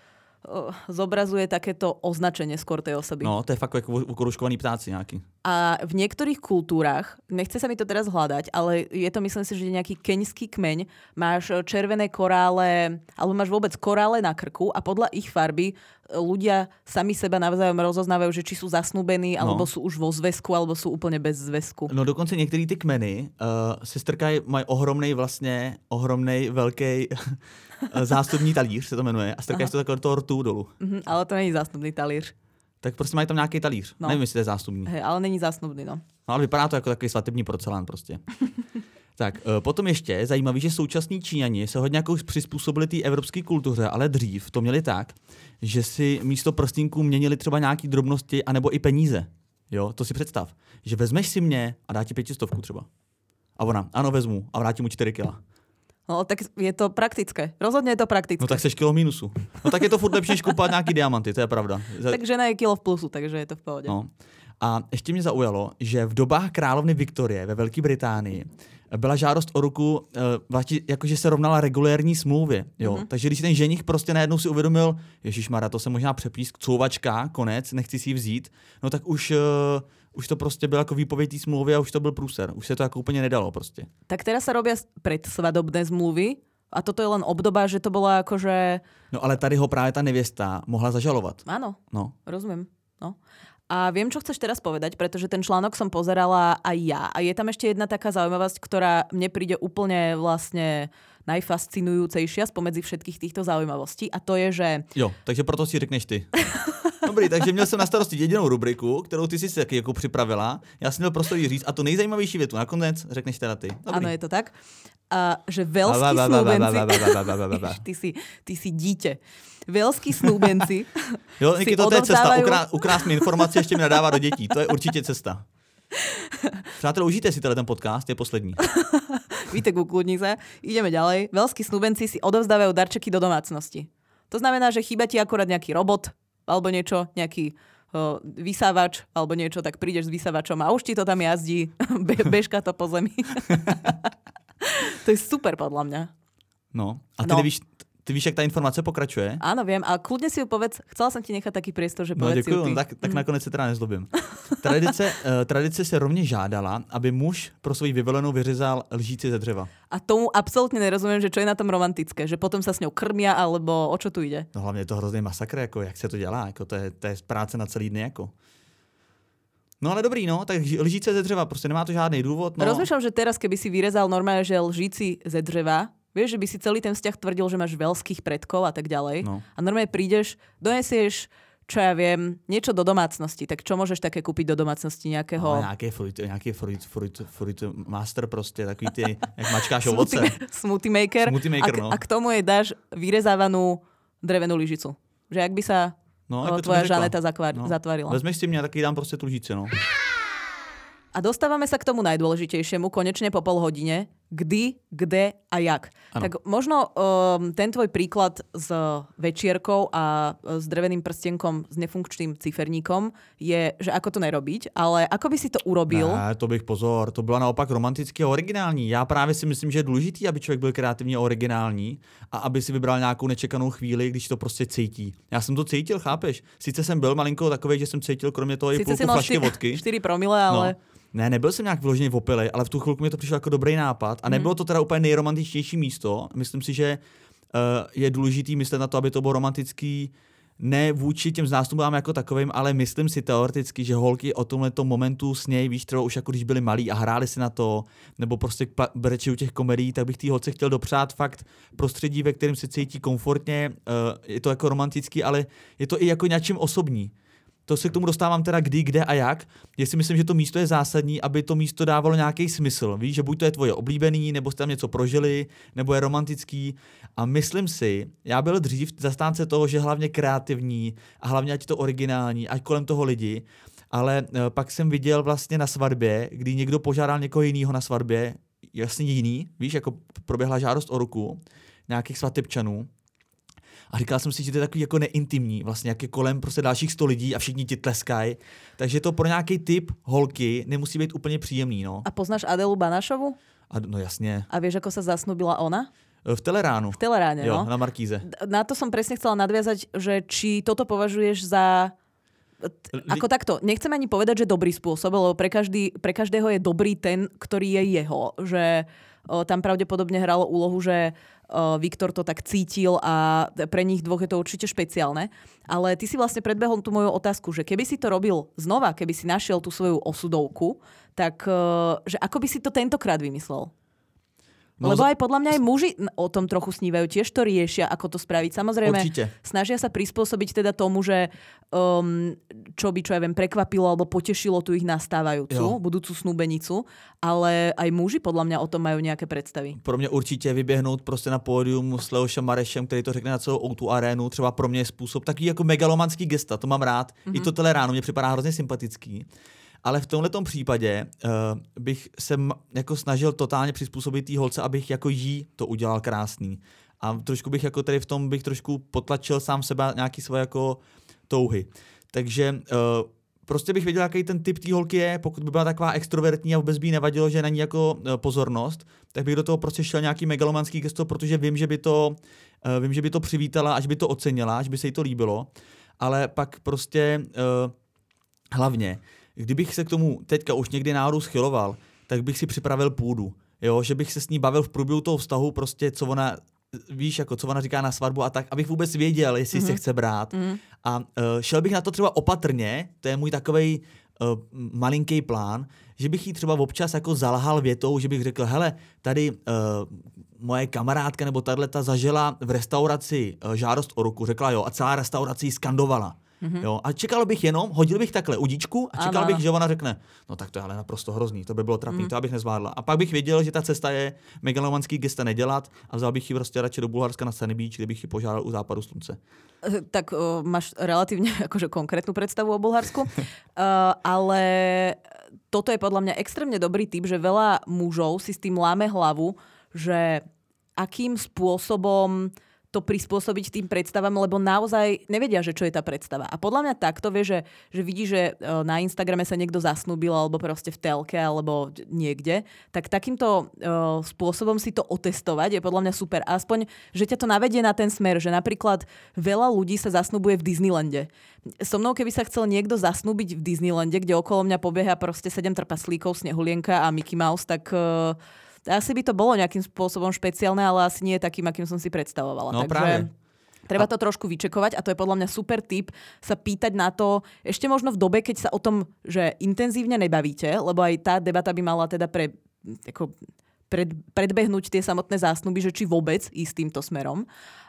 zobrazuje takéto označenie skôr tej osoby. No, to je fakt ako ukoruškovaný ptáci nejaký. A v niektorých kultúrach, nechce sa mi to teraz hľadať, ale je to, myslím si, že nejaký keňský kmeň, máš červené korále, alebo máš vôbec korále na krku a podľa ich farby ľudia sami seba navzájom rozoznávajú, že či sú zasnúbení, alebo no. sú už vo zväzku, alebo sú úplne bez zväzku. No dokonce některý ty kmeny uh, se strkají, mají ohromnej vlastně, ohromnej velký zástupní talíř, se to jmenuje, a strkají se to takhle do toho rtu dolů. Mm-hmm, ale to není zástupný talíř. Tak prostě mají tam nějaký talíř. No. Nevím, jestli to je zástupný. Hej, ale není zástupný, no. No ale vypadá to jako takový svatební porcelán prostě. Tak, potom ještě je zajímavý, že současní Číňani se hodně jako přizpůsobili té evropské kultuře, ale dřív to měli tak, že si místo prstýnků měnili třeba nějaký drobnosti anebo i peníze. Jo, to si představ, že vezmeš si mě a dá ti pětistovku třeba. A ona, ano, vezmu a vrátí mu čtyři kila. No, tak je to praktické. Rozhodně je to praktické. No tak seš kilo mínusu. No tak je to furt lepší, než kupovat nějaký diamanty, to je pravda. Tak žena je kilo v plusu, takže je to v pohodě. No. A ještě mě zaujalo, že v dobách královny Viktorie ve Velké Británii byla žádost o ruku, jakože se rovnala regulérní smlouvě. Jo? Mm-hmm. Takže když ten ženich prostě najednou si uvědomil, ježišmarja, to se možná přepísk, couvačka, konec, nechci si ji vzít, no tak už, uh, už to prostě bylo jako výpověď té smlouvy a už to byl průser. Už se to jako úplně nedalo prostě. Tak teraz sa robia predsvadobné zmluvy a toto je len obdoba, že to bola akože... No ale tady ho právě ta nevěsta mohla zažalovat. Áno, no. rozumiem. No. A viem, čo chceš teraz povedať, pretože ten článok som pozerala aj ja. A je tam ešte jedna taká zaujímavosť, ktorá mne príde úplne vlastne najfascinujúcejšia spomedzi všetkých týchto zaujímavostí. A to je, že... Jo, takže proto si řekneš ty. Dobrý, takže měl jsem na starosti jedinou rubriku, kterou ty si si taky jako připravila. Já jsem měl prostor jí říct a tu nejzajímavější větu nakonec řekneš teda ty. Dobrý. Ano, je to tak. A že velský snúbenci... Ty si, ty si dítě. Velský snúbenci jo, Niky, to je cesta. Ukrá, ukrást mi informace, ještě mi nadává do dětí. To je určitě cesta. Přátelé, užijte si ten podcast, je poslední. Víte, ukludni sa. Ideme ďalej. Velskí snúbenci si odovzdávajú darčeky do domácnosti. To znamená, že chýba ti akorát nejaký robot, alebo niečo, nejaký uh, vysávač, alebo niečo, tak prídeš s vysávačom a už ti to tam jazdí, Be- bežka to po zemi. To je super podľa mňa. No, a ty no. nevíš... Ty víš, jak ta informace pokračuje? Áno, viem. A kľudne si ju povedz. Chcela som ti nechať taký priestor, že no, povedz děkuju, si ju ty. Tak, tak nakonec se teda nezlobím. Tradice, uh, tradice se rovněž žádala, aby muž pro svoji vyvolenou vyřezal lžíci ze dřeva. A tomu absolútne nerozumiem, že čo je na tom romantické. Že potom sa s ňou krmia, alebo o čo tu ide? No hlavně je to hrozný masakr, jako jak se to dělá. Jako to, je, to je práce na celý dny. Jako. No ale dobrý, no, tak lžíce ze dřeva, prostě nemá to žádný důvod. No. Rozmýšľam, že teraz, keby si vyrezal normálne, že lžíci ze dřeva, vieš, že by si celý ten vzťah tvrdil, že máš veľských predkov a tak ďalej. No. A normálne prídeš, donesieš, čo ja viem, niečo do domácnosti. Tak čo môžeš také kúpiť do domácnosti nejakého... No, nejaký fruit, nejaký fruit, fruit, fruit master prostě, takový ty, jak mačkáš ovoce. Smoothie maker. Smoothie maker, a, no. A k tomu jej dáš vyrezávanú drevenú lyžicu. Že ak by sa no, o, tvoja Žaneta zakvar, no. zatvarila. Vezmeš si mě, taky dám prostě tu lžíci, no. A dostávame sa k tomu najdôležitejšiemu, konečne po pol hodine. Kdy, kde a jak. Ano. Tak možno um, ten tvoj príklad s večierkou a s dreveným prstenkom s nefunkčným ciferníkom je, že ako to nerobiť, ale ako by si to urobil? Ne, to bych pozor, to bylo naopak romanticky a originální. Já právě si myslím, že je důležitý, aby člověk byl kreativní a originální a aby si vybral nějakou nečekanou chvíli, když to prostě cítí. Já jsem to cítil, chápeš? Sice jsem byl malinko takovej, že jsem cítil kromě toho i půlku flašky vodky. čtyři promile, ale... No. Ne, nebyl jsem nějak vyložený opilej, ale v tu chvilku mi to přišlo jako dobrý nápad a nebylo to teda úplně nejromantičtější místo. Myslím si, že uh, je důležitý myslet na to, aby to bylo romantický ne vůči těm zástupům jako takovým, ale myslím si teoreticky, že holky o tomhletom momentu sněj, víš, třeba už jako když byli malí a hráli si na to, nebo prostě brečí u těch komedií, tak bych té holce chtěl dopřát fakt prostředí, ve kterém se cítí komfortně. Uh, je to jako romantický, ale je to i jako něčím osobní. to se k tomu dostávám teda kdy, kde a jak. Já si myslím, že to místo je zásadní, aby to místo dávalo nějaký smysl. Víš, že buď to je tvoje oblíbený, nebo jste tam něco prožili, nebo je romantický. A myslím si, já byl dřív zastánce toho, že hlavně kreativní a hlavně ať to originální, ať kolem toho lidi. Ale pak jsem viděl vlastně na svatbě, kdy někdo požádal někoho jiného na svatbě, jasně jiný, víš, jako proběhla žádost o ruku nějakých svatebčanů. A říkal jsem si, že to je takový jako neintimní, vlastně jak je kolem prostě dalších sto lidí a všichni ti tleskají. Takže to pro nějaký typ holky nemusí být úplně příjemný, no. A poznáš Adelu Banašovu? A, no jasně. A vieš, ako sa zasnubila ona? V Teleránu. V Teleráne, jo, no. Na Markíze. Na to som presne chcela nadviazať, že či toto považuješ za... Ako takto, nechcem ani povedať, že dobrý spôsob, lebo pre, každý, pre každého je dobrý ten, ktorý je jeho. Že o, tam pravdepodobne hralo úlohu, že o, Viktor to tak cítil a pre nich dvoch je to určite špeciálne. Ale ty si vlastne predbehol tú moju otázku, že keby si to robil znova, keby si našiel tú svoju osudovku, tak o, že ako by si to tentokrát vymyslel? No, lebo aj podľa mňa aj muži o tom trochu snívajú, tiež to riešia, ako to spraviť. Samozrejme, určite. Snažia sa prispôsobiť teda tomu, že um, čo by, čo ja viem, prekvapilo alebo potešilo tu ich nastávajúcu, jo. budúcu snúbenicu, ale aj muži podľa mňa o tom majú nejaké predstavy. Pro mě určitě vyběhnout prostě na pódium s Leošem Marešem, který to řekne na celou ó dva arénu, třeba pro mě je způsob takový jako megalomanský gesta, to mám rád. Mm-hmm. I to Teleránu mě připadá hrozně sympatický. Ale v tomhletom případě uh, bych se m- jako snažil totálně přizpůsobit té holce, abych jako jí to udělal krásný. A trošku bych jako tady v tom bych trošku potlačil sám sebe nějaký svoje jako touhy. Takže uh, prostě bych věděl, jaký ten typ té holky je, pokud by byla taková extrovertní a vůbec by jí nevadilo, že na ní jako uh, pozornost, tak bych do toho prostě šel nějaký megalomanský gesto, protože vím, že by to, uh, vím, že by to přivítala, až by to ocenila, až by se jí to líbilo. Ale pak prostě uh, hlavně kdybych se k tomu teďka už někdy náhodou schyloval, tak bych si připravil půdu. Jo, že bych se s ní bavil v průběhu toho vztahu, prostě co ona, víš, jako co ona říká na svatbu a tak, abych vůbec věděl, jestli mm-hmm. se chce brát. Mm-hmm. A uh, šel bych na to třeba opatrně, to je můj takovej uh, malinký plán, že bych jí třeba občas jako zalhal větou, že bych řekl, hele, tady uh, moje kamarádka nebo tato zažila v restauraci uh, žádost o ruku, řekla jo a celá restaurace ji skandovala. Mm-hmm. Jo, a čekal bych jenom, hodil bych takhle udíčku a čekal ano. bych, že ona řekne, no tak to je ale naprosto hrozný, to by bylo trapný, mm. to abych nezvládla. A pak bych věděl, že ta cesta je megalomanský gesta nedělat a vzal bych ji prostě radši do Bulharska na Sunny Beach, kde bych ji požádal u západu slunce. Tak uh, máš relatívne akože konkrétnu predstavu o Bulharsku, uh, ale toto je podľa mňa extrémne dobrý tip, že veľa mužov si s tým láme hlavu, že akým spôsobom to prispôsobiť tým predstavám, lebo naozaj nevedia, že čo je tá predstava. A podľa mňa takto vie, že, že vidí, že na Instagrame sa niekto zasnúbil alebo proste v telke alebo niekde, tak takýmto uh, spôsobom si to otestovať je podľa mňa super. Aspoň, že ťa to navedie na ten smer, že napríklad veľa ľudí sa zasnúbuje v Disneylande. So mnou, keby sa chcel niekto zasnúbiť v Disneylande, kde okolo mňa pobieha proste sedem trpaslíkov, Snehulienka a Mickey Mouse, tak... Uh, asi by to bolo nejakým spôsobom špeciálne, ale asi nie takým, akým som si predstavovala. No, Takže práve. Treba to trošku vyčekovať a to je podľa mňa super tip sa pýtať na to, ešte možno v dobe, keď sa o tom, že intenzívne nebavíte, lebo aj tá debata by mala teda pre, ako pred, predbehnúť tie samotné zásnuby, že či vôbec ísť týmto smerom.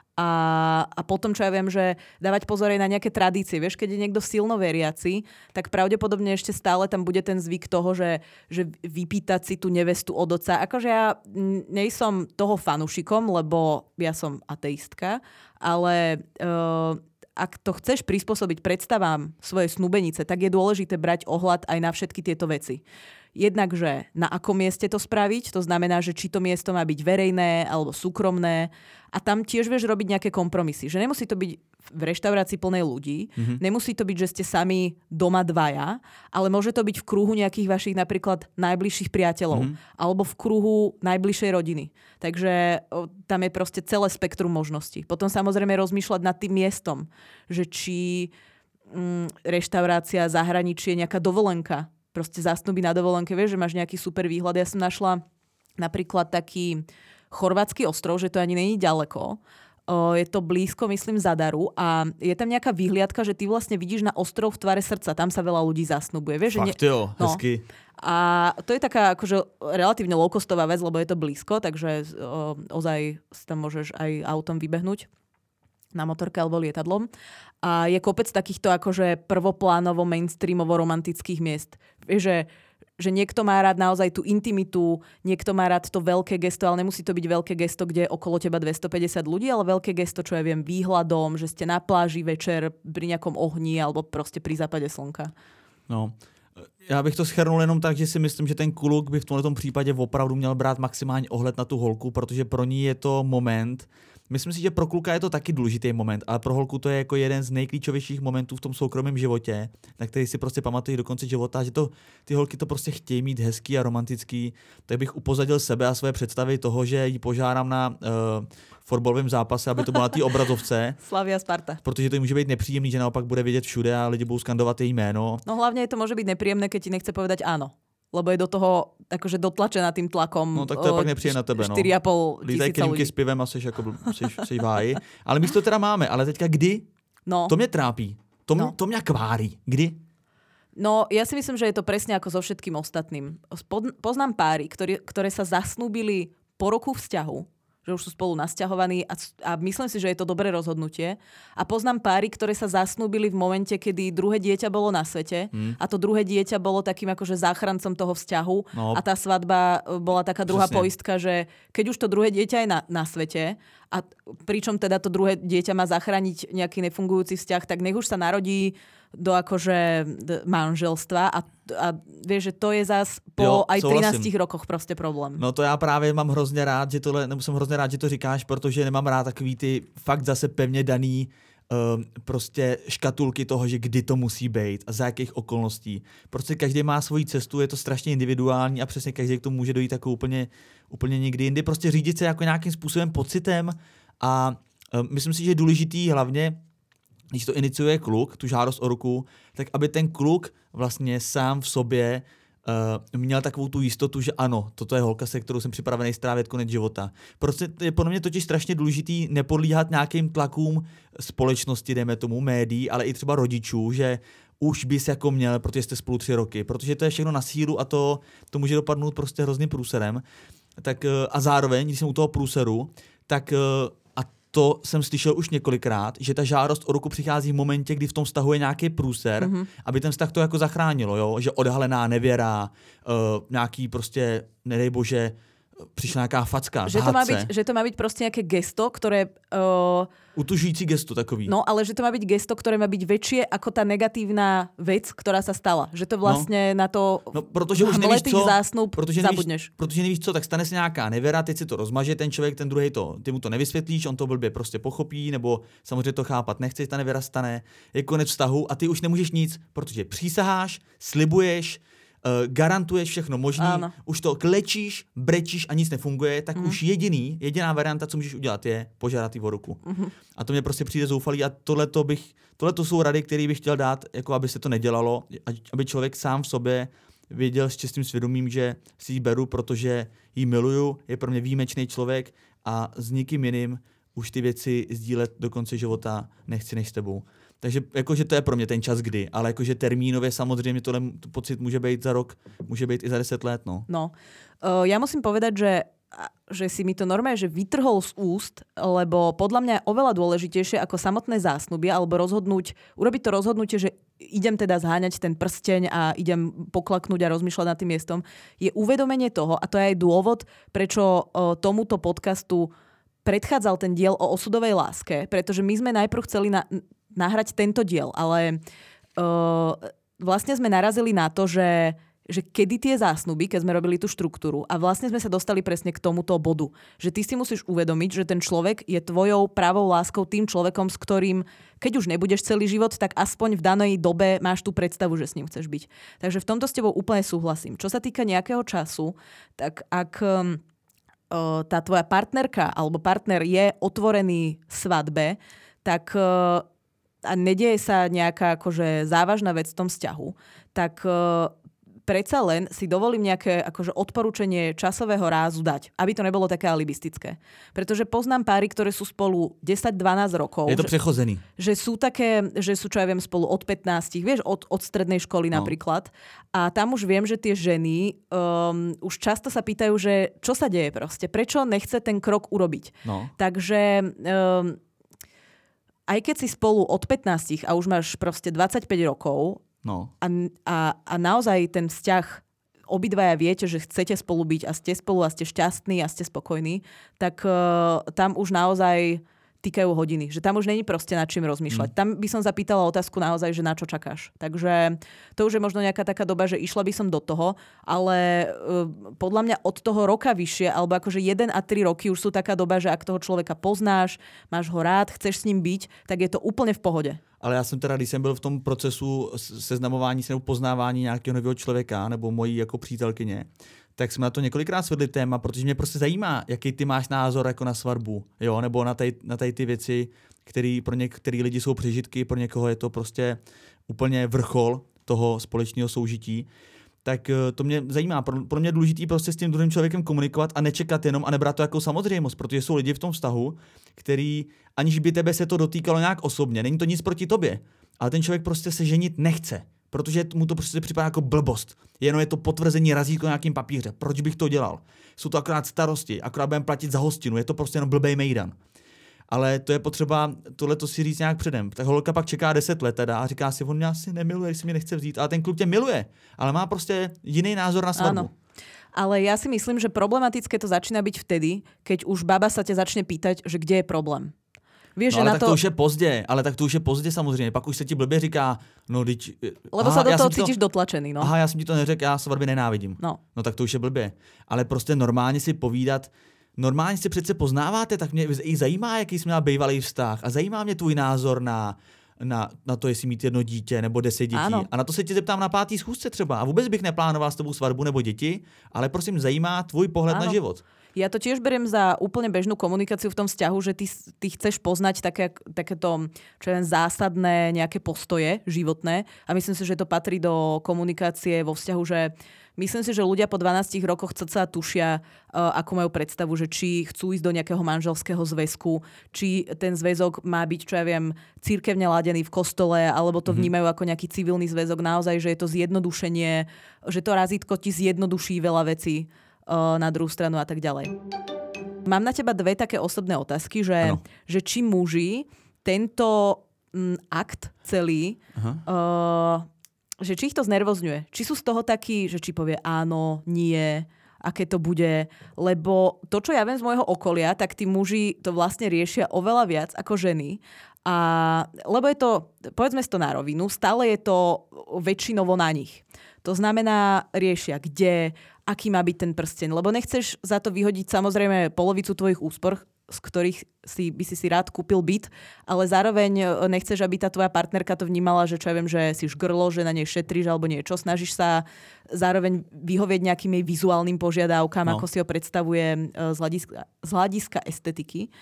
A, a potom, čo ja viem, že dávať pozor aj na nejaké tradície. Vieš, keď je niekto silno veriaci, tak pravdepodobne ešte stále tam bude ten zvyk toho, že, že vypýtať si tú nevestu od otca. Akože ja nejsom toho fanušikom, lebo ja som ateistka, ale uh, ak to chceš prispôsobiť predstavám svojej snúbenice, tak je dôležité brať ohľad aj na všetky tieto veci. Jednak, že na akom mieste to spraviť, to znamená, že či to miesto má byť verejné alebo súkromné a tam tiež vieš robiť nejaké kompromisy. Že nemusí to byť v reštaurácii plnej ľudí, mm-hmm. nemusí to byť, že ste sami doma dvaja, ale môže to byť v kruhu nejakých vašich napríklad najbližších priateľov mm-hmm. alebo v kruhu najbližšej rodiny. Takže o, tam je proste celé spektrum možností. Potom samozrejme rozmýšľať nad tým miestom, že či mm, reštaurácia, zahraničie, nejaká dovolenka, proste zasnúbi na dovolenke, vieš, že máš nejaký super výhľad. Ja som našla napríklad taký chorvátsky ostrov, že to ani není ďaleko. O, je to blízko, myslím, Zadaru a je tam nejaká výhliadka, že ty vlastne vidíš na ostrov v tvare srdca. Tam sa veľa ľudí zasnúbuje. Vieš, Fakt že ne... jo, hezky. No. A to je taká akože relatívne low-costová vec, lebo je to blízko, takže o, ozaj tam môžeš aj autom vybehnúť. na motorke alebo lietadlom. A je kopec takýchto akože prvoplánovo, mainstreamovo romantických miest. Vieš, že, že niekto má rád naozaj tú intimitu, niekto má rád to veľké gesto, ale nemusí to byť veľké gesto, kde je okolo teba dvestopäťdesiat ľudí, ale veľké gesto, čo ja viem, výhľadom, že ste na pláži večer pri nejakom ohni alebo proste pri západe slnka. No, já bych to shrnul jenom tak, že si myslím, že ten kluk by v tomto případě opravdu měl brát maximální ohled na tu holku, protože pro ní je to moment. Myslím si, že pro kluka je to taky důležitý moment, ale pro holku to je jako jeden z nejklíčovějších momentů v tom soukromém životě, na který si prostě pamatují do konce života, že to, ty holky to prostě chtějí mít hezký a romantický. Tak bych upozadil sebe a své představy toho, že ji požádám na uh, fotbalovém zápase, aby to bylo na té obrazovce. Slavia Sparta. Protože to může být nepříjemný, že naopak bude vidět všude a lidi budou skandovat její jméno. No hlavně to může být nepříjemné, keď ti nechce povedať áno. Lebo je do toho akože dotlačená tým tlakom. No tak to je pak nepříjemné na tebe, no. štyri a pol tisíca ľudí. s pivem a seš jako seš, seš v háji. Ale my to teda máme, ale teďka kdy? No. To mě trápí. To, no. to mě kvárí. Kdy? No, ja si myslím, že je to presne ako so všetkým ostatným. Poznám páry, ktoré, ktoré sa zasnúbili po roku vzťahu, že už sú spolu nasťahovaní a, a myslím si, že je to dobré rozhodnutie. A poznám páry, ktoré sa zasnúbili v momente, kedy druhé dieťa bolo na svete hmm. a to druhé dieťa bolo takým akože záchrancom toho vzťahu no. a tá svadba bola taká druhá Přesne. poistka, že keď už to druhé dieťa je na, na svete a pričom teda to druhé dieťa má zachrániť nejaký nefungujúci vzťah, tak nech už sa narodí do akože manželstva a, a vieš, že to je zas po jo, aj trinástich rokoch prostě problém. No to já právě mám hrozně rád, že tohle, nebo jsem hrozně rád, že to říkáš, protože nemám rád takový ty fakt zase pevně daný um, prostě škatulky toho, že kdy to musí být a za jakých okolností. Prostě každý má svoji cestu, je to strašně individuální a přesně každý k tomu může dojít jako úplně, úplně někdy jindy. Prostě řídit se jako nějakým způsobem pocitem a um, myslím si, že je důležitý hlavně, když to iniciuje kluk, tu žádost o ruku, tak aby ten kluk vlastně sám v sobě uh, měl takovou tu jistotu, že ano, toto je holka, se kterou jsem připravený strávit konec života. Prostě je podle mě totiž strašně důležitý nepodlíhat nějakým tlakům společnosti, dejme tomu, médií, ale i třeba rodičů, že už bys jako měl, protože jste spolu tři roky, protože to je všechno na sílu a to, to může dopadnout prostě hrozným průserem. Tak, uh, a zároveň, když jsem u toho průseru, tak uh, to jsem slyšel už několikrát, že ta žádost o ruku přichází v momentě, kdy v tom vztahu je nějaký průser, mm-hmm. aby ten vztah to jako zachránilo, jo? Že odhalená nevěra, uh, nějaký prostě, nedej bože, přišla nějaká facka, že to, má byť, že to má byť prostě nějaké gesto, které... Uh... Utužující gesto takový. No, ale že to má byť gesto, ktoré má byť väčšie ako tá negatívna vec, ktorá sa stala. Že to vlastne no. na to no, protože už nevíš co, zásnub protože zabudneš. Nevíš, protože nevíš co, tak stane se nějaká nevěra, teď si to rozmaže, ten člověk, ten druhý to, ty mu to nevysvětlíš, on to blbě prostě pochopí, nebo samozřejmě to chápat nechce, ta nevěra stane, je konec vztahu a ty už nemůžeš nic, protože přísaháš, slibuješ, Uh, garantuješ všechno možný, Áno. už to klečíš, brečíš a nic nefunguje, tak mm. už jediný, jediná varianta, co můžeš udělat, je požádat o ruku. Mm-hmm. A to mě prostě přijde zoufalý a tohleto bych, tohleto jsou rady, které bych chtěl dát, jako aby se to nedělalo, aby člověk sám v sobě věděl s čistým svědomím, že si ji beru, protože ji miluju, je pro mě výjimečný člověk a s nikým jiným už ty věci sdílet do konce života nechci než s tebou. Takže jakože to je pro mě ten čas kdy, ale jakože termínově samozřejmě tohle pocit může být za rok, může být i za deset let. No, no. Uh, ja musím povedať, že, že si mi to normálne že vytrhol z úst, lebo podľa mňa je oveľa dôležitejšie ako samotné zásnuby alebo rozhodnúť, urobiť to rozhodnutie, že idem teda zháňať ten prsteň a idem poklaknúť a rozmýšľať nad tým miestom, je uvedomenie toho, a to je aj dôvod, prečo uh, tomuto podcastu predchádzal ten diel o osudovej láske, pretože my sme najprv chceli na nahrať tento diel, ale uh, vlastne sme narazili na to, že, že kedy tie zásnuby, keď sme robili tú štruktúru a vlastne sme sa dostali presne k tomuto bodu, že ty si musíš uvedomiť, že ten človek je tvojou pravou láskou, tým človekom, s ktorým, keď už nebudeš celý život, tak aspoň v danej dobe máš tú predstavu, že s ním chceš byť. Takže v tomto s tebou úplne súhlasím. Čo sa týka nejakého času, tak ak um, uh, tá tvoja partnerka alebo partner je otvorený svadbe, tak uh, a nedieje sa nejaká akože závažná vec v tom vzťahu, tak uh, predsa len si dovolím nejaké akože odporúčanie časového rázu dať, aby to nebolo také alibistické. Pretože poznám páry, ktoré sú spolu desať dvanásť rokov. Je to že, prechozený. Že sú také, že sú, čo ja viem, spolu od pätnásť, vieš, od, od strednej školy no. napríklad. A tam už viem, že tie ženy um, už často sa pýtajú, že čo sa deje proste, prečo nechce ten krok urobiť. No. Takže... Um, aj keď si spolu od pätnásť a už máš proste dvadsaťpäť rokov no. a, a, a naozaj ten vzťah obidvaja viete, že chcete spolu byť a ste spolu a ste šťastní a ste spokojní, tak uh, tam už naozaj týkajú hodiny. Že tam už není proste nad čím rozmýšľať. Mm. Tam by som zapýtala otázku naozaj, že na čo čakáš. Takže to už je možno nejaká taká doba, že išla by som do toho, ale uh, podľa mňa od toho roka vyššie, alebo akože jeden a tri roky už sú taká doba, že ak toho človeka poznáš, máš ho rád, chceš s ním byť, tak je to úplne v pohode. Ale já jsem teda, když jsem byl v tom procesu seznamování se nebo poznávání nějakého nového člověka nebo mojí jako přítelkyně, tak jsme na to několikrát svedli téma, protože mě prostě zajímá, jaký ty máš názor jako na svatbu, jo, nebo na tady, na tady ty věci, které pro některé lidi jsou přežitky, pro někoho je to prostě úplně vrchol toho společného soužití. Tak to mě zajímá. Pro, pro mě je důležité prostě s tím druhým člověkem komunikovat a nečekat jenom a nebrat to jako samozřejmost, protože jsou lidi v tom vztahu, který, aniž by tebe se to dotýkalo nějak osobně, není to nic proti tobě, ale ten člověk prostě se ženit nechce, protože mu to prostě připadá jako blbost. Jenom je to potvrzení razítko na nějakým papíře. Proč bych to dělal? Jsou to akorát starosti, akorát budeme platit za hostinu, je to prostě jenom blbej mejdan. Ale to je potřeba tohleto si říct nějak předem. Ta holka pak čeká deset let teda a říká si, on mě asi nemiluje, když si mě nechce vzít. Ale ten kluk tě miluje, ale má prostě jiný názor na svatbu. Áno. Ale ja si myslím, že problematické to začína byť vtedy, keď už baba sa ťa začne pýtať, že kde je problém. Vieš, no, že ale na tak to... to už je pozdě, ale tak to už je pozdě samozřejmě. Pak už se ti blbě říká, no teď... Lebo aha, sa do toho cítiš to... dotlačený, no. Aha, já jsem ti to neřekl, já svatby nenávidím. No. No tak to už je blbě. Ale prostě normálně si povídat, normálně si přece poznáváte, tak mě i zajímá, jaký jsi měla bývalý vztah a zajímá mě tvůj názor na, na, na to, jestli mít jedno dítě nebo deset dětí. Ano. A na to se tě zeptám na pátý schůzce třeba. A vůbec bych neplánoval s tebou svatbu nebo děti, ale prosím zajímá tvůj pohled ano. na život. Ja to tiež beriem za úplne bežnú komunikáciu v tom vzťahu, že ty, ty chceš poznať také, takéto čo je zásadné nejaké postoje životné a myslím si, že to patrí do komunikácie vo vzťahu, že myslím si, že ľudia po dvanástich rokoch cca tušia, uh, ako majú predstavu, že či chcú ísť do nejakého manželského zväzku, či ten zväzok má byť, čo ja viem, cirkevne ladený v kostole, alebo to vnímajú ako nejaký civilný zväzok. Naozaj, že je to zjednodušenie, že to razítko ti zjednoduší veľa vecí na druhú stranu a tak ďalej. Mám na teba dve také osobné otázky, že, že či muži tento m, akt celý, uh, že či ich to znervozňuje. Či sú z toho takí, že či povie áno, nie, aké to bude. Lebo to, čo ja viem z môjho okolia, tak tí muži to vlastne riešia oveľa viac ako ženy. A, lebo je to, povedzme si to na rovinu, stále je to väčšinovo na nich. To znamená, riešia kde, aký má byť ten prsteň. Lebo nechceš za to vyhodiť samozrejme polovicu tvojich úspor, z ktorých si, by si si rád kúpil byt, ale zároveň nechceš, aby tá tvoja partnerka to vnímala, že čo ja viem, že si žgrlo, že na nej šetríš alebo niečo. Snažíš sa zároveň vyhovieť nejakým jej vizuálnym požiadavkám, no. ako si ho predstavuje z hľadiska, z hľadiska estetiky.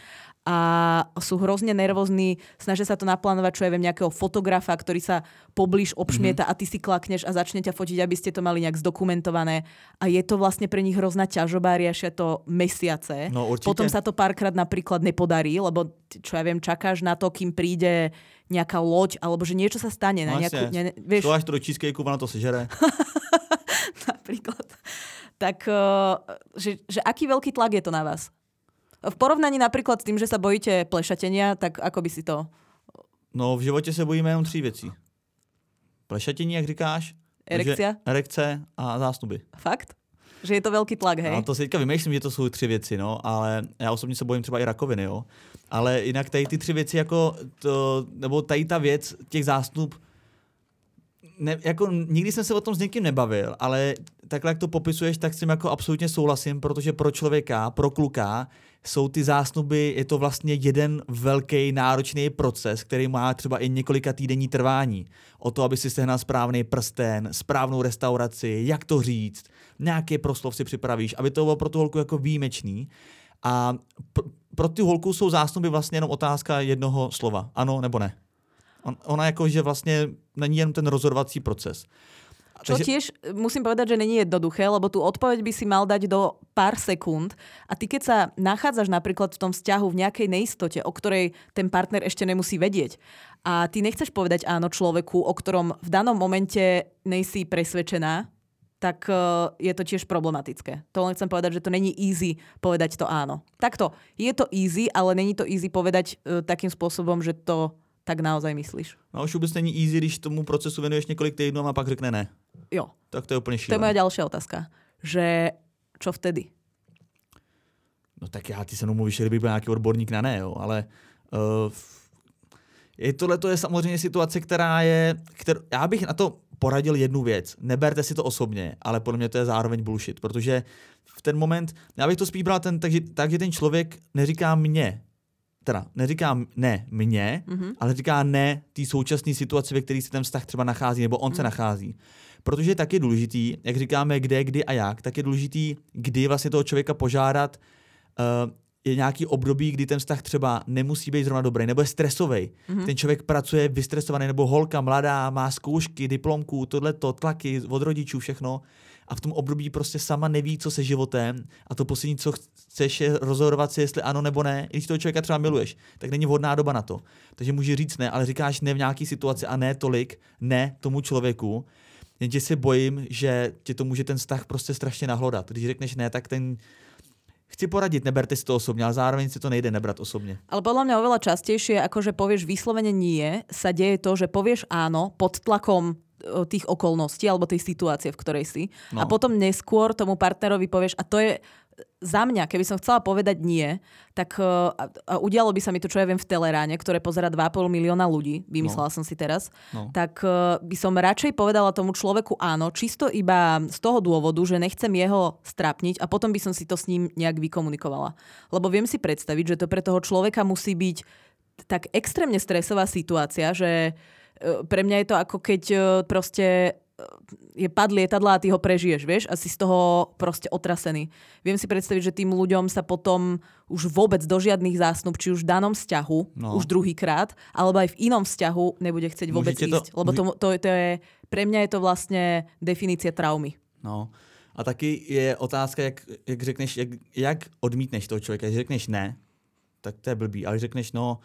A sú hrozne nervózni, snažia sa to naplánovať, čo ja viem, nejakého fotografa, ktorý sa poblíž obšmieta mm-hmm. a ty si klakneš a začne ťa fotiť, aby ste to mali nejak zdokumentované. A je to vlastne pre nich hrozná ťažoba, riešia to mesiace. No, potom sa to párkrát napríklad nepodarí, lebo čo ja viem, čakáš na to, kým príde nejaká loď, alebo že niečo sa stane. No, na nejakú, ne, vieš... To až to do cheesecakeu, ona to sežere. Napríklad. Tak, že, že aký veľký tlak je to na vás? V porovnaní napríklad s tým, že sa bojíte plešatenia, tak ako by si to... No v životě se bojíme jenom tří věcí. Plešatění, jak říkáš. Erekcia. Erekce a zástuby. Fakt? Že je to velký tlak, hej? No to si teďka vymýšlím, že to jsou tři věci, no, ale já osobně se bojím třeba i rakoviny, jo. Ale jinak tady ty tři věci jako to, nebo tady ta věc těch zástup, ne, jako nikdy jsem se o tom s někým nebavil, ale takhle, jak to popisuješ, tak s tím jako absolutně souhlasím, protože pro člověka, pro kluka jsou ty zásnuby, je to vlastně jeden velký náročný proces, který má třeba i několika týdenní trvání. O to, aby si sehnal správný prsten, správnou restauraci, jak to říct, nějaký proslov si připravíš, aby to bylo pro tu holku jako výjimečný. A pr- pro tu holku jsou zásnuby vlastně jenom otázka jednoho slova. Ano nebo ne. On, ona jako, že vlastně není jen ten rozhodovací proces. Čo Takže... tiež musím povedať, že není jednoduché, lebo tú odpoveď by si mal dať do pár sekúnd a ty keď sa nachádzaš napríklad v tom vzťahu v nejakej neistote, o ktorej ten partner ešte nemusí vedieť a ty nechceš povedať áno človeku, o ktorom v danom momente nejsi presvedčená, tak uh, je to tiež problematické. To len chcem povedať, že to není easy povedať to áno. Takto, je to easy, ale není to easy povedať uh, takým spôsobom, že to tak naozaj myslíš. No už vůbec není easy, když tomu procesu venuješ několik týdnů a pak řekne ne. Jo. Tak to je úplně šílené. To je moja ďalšia otázka. Že čo vtedy? No tak já ty se mnou mluvíš, kdyby byl nějaký odborník na ne, jo, ale uh, je tohle to je samozřejmě situace, která je, kterou, já bych na to poradil jednu věc. Neberte si to osobně, ale podle mě to je zároveň bullshit, protože v ten moment, já bych to spíš bral ten, takže, takže ten člověk neříká mně, teda neříká ne mně, mm-hmm. ale říká ne té současné situaci, ve které se ten vztah třeba nachází, nebo on mm. se nachází. Protože je taky důležitý, jak říkáme kde, kdy a jak, tak je důležitý, kdy vlastně toho člověka požádat, uh, je nějaký období, kdy ten vztah třeba nemusí být zrovna dobrý, nebo je stresový. Mm-hmm. Ten člověk pracuje vystresovaný, nebo holka mladá, má zkoušky, diplomku, tohleto, tlaky od rodičů, všechno. A v tom období prostě sama neví, co se životem. A to poslední, co chceš, je rozhodovat si, jestli ano nebo ne. Když toho člověka třeba miluješ, tak není vhodná doba na to. Takže může říct ne, ale říkáš ne v nějaké situaci a ne tolik, ne tomu člověku. Jenže se bojím, že tě to může ten vztah prostě strašně nahlodat. Když řekneš ne, tak ten chci poradit, neberte si to osobně, ale zároveň si to nejde nebrat osobně. Ale podľa mňa oveľa častejšie, ako že povieš vyslovene nie, sa deje to, že povieš áno pod tlakom tých okolností alebo tej situácie, v ktorej si. No. A potom neskôr tomu partnerovi povieš, a to je za mňa, keby som chcela povedať nie, tak uh, a udialo by sa mi to, čo ja viem v Teleráne, ktoré pozerá dva a pol milióna ľudí, vymyslela no. som si teraz, no. tak uh, by som radšej povedala tomu človeku áno, čisto iba z toho dôvodu, že nechcem jeho strapniť a potom by som si to s ním nejak vykomunikovala. Lebo viem si predstaviť, že to pre toho človeka musí byť tak extrémne stresová situácia, že uh, pre mňa je to ako keď uh, proste je pad lietadla a ty ho prežiješ, vieš, a si z toho proste otrasený. Viem si predstaviť, že tým ľuďom sa potom už vôbec do žiadnych zásnub, či už v danom vzťahu, no. už druhýkrát, alebo aj v inom vzťahu nebude chcieť vôbec Môžete ísť. To... Lebo to, to, to je, pre mňa je to vlastne definícia traumy. No. A taky je otázka, jak, jak řekneš, jak, jak odmítneš toho člověka. Když řekneš ne, tak to je blbý, ale když řekneš no,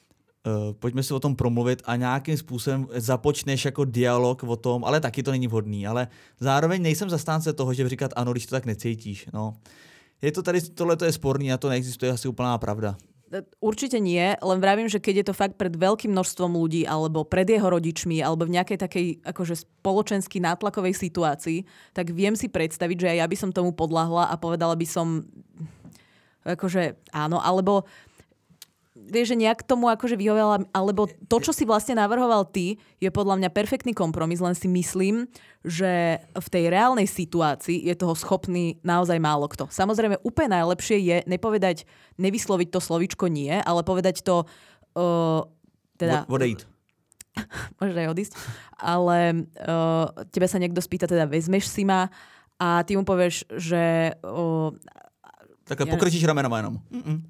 Uh, pojďme si o tom promluvit a nějakým způsobem započneš jako dialog o tom, ale taky to není vhodný, ale zároveň nejsem zastánce toho, že říkat ano, když to tak necítíš. No. Je to tady, tohle to je sporný a to neexistuje asi úplná pravda. Určite nie, len vravím, že keď je to fakt pred veľkým množstvom ľudí alebo pred jeho rodičmi alebo v nejakej takej akože spoločensky nátlakovej situácii, tak viem si predstaviť, že aj ja by som tomu podľahla a povedala by som akože áno, alebo vieš, že nejak tomu akože vyhovala, alebo to, čo si vlastne navrhoval ty, je podľa mňa perfektný kompromis, len si myslím, že v tej reálnej situácii je toho schopný naozaj málo kto. Samozrejme, úplne najlepšie je nepovedať, nevysloviť to slovíčko nie, ale povedať to uh, teda... Odejít. Môžeš aj odísť. Ale uh, tebe sa niekto spýta, teda vezmeš si ma a ty mu povieš, že... Uh, Takhle ja pokrčíš ramenama jenom. Mm-mm.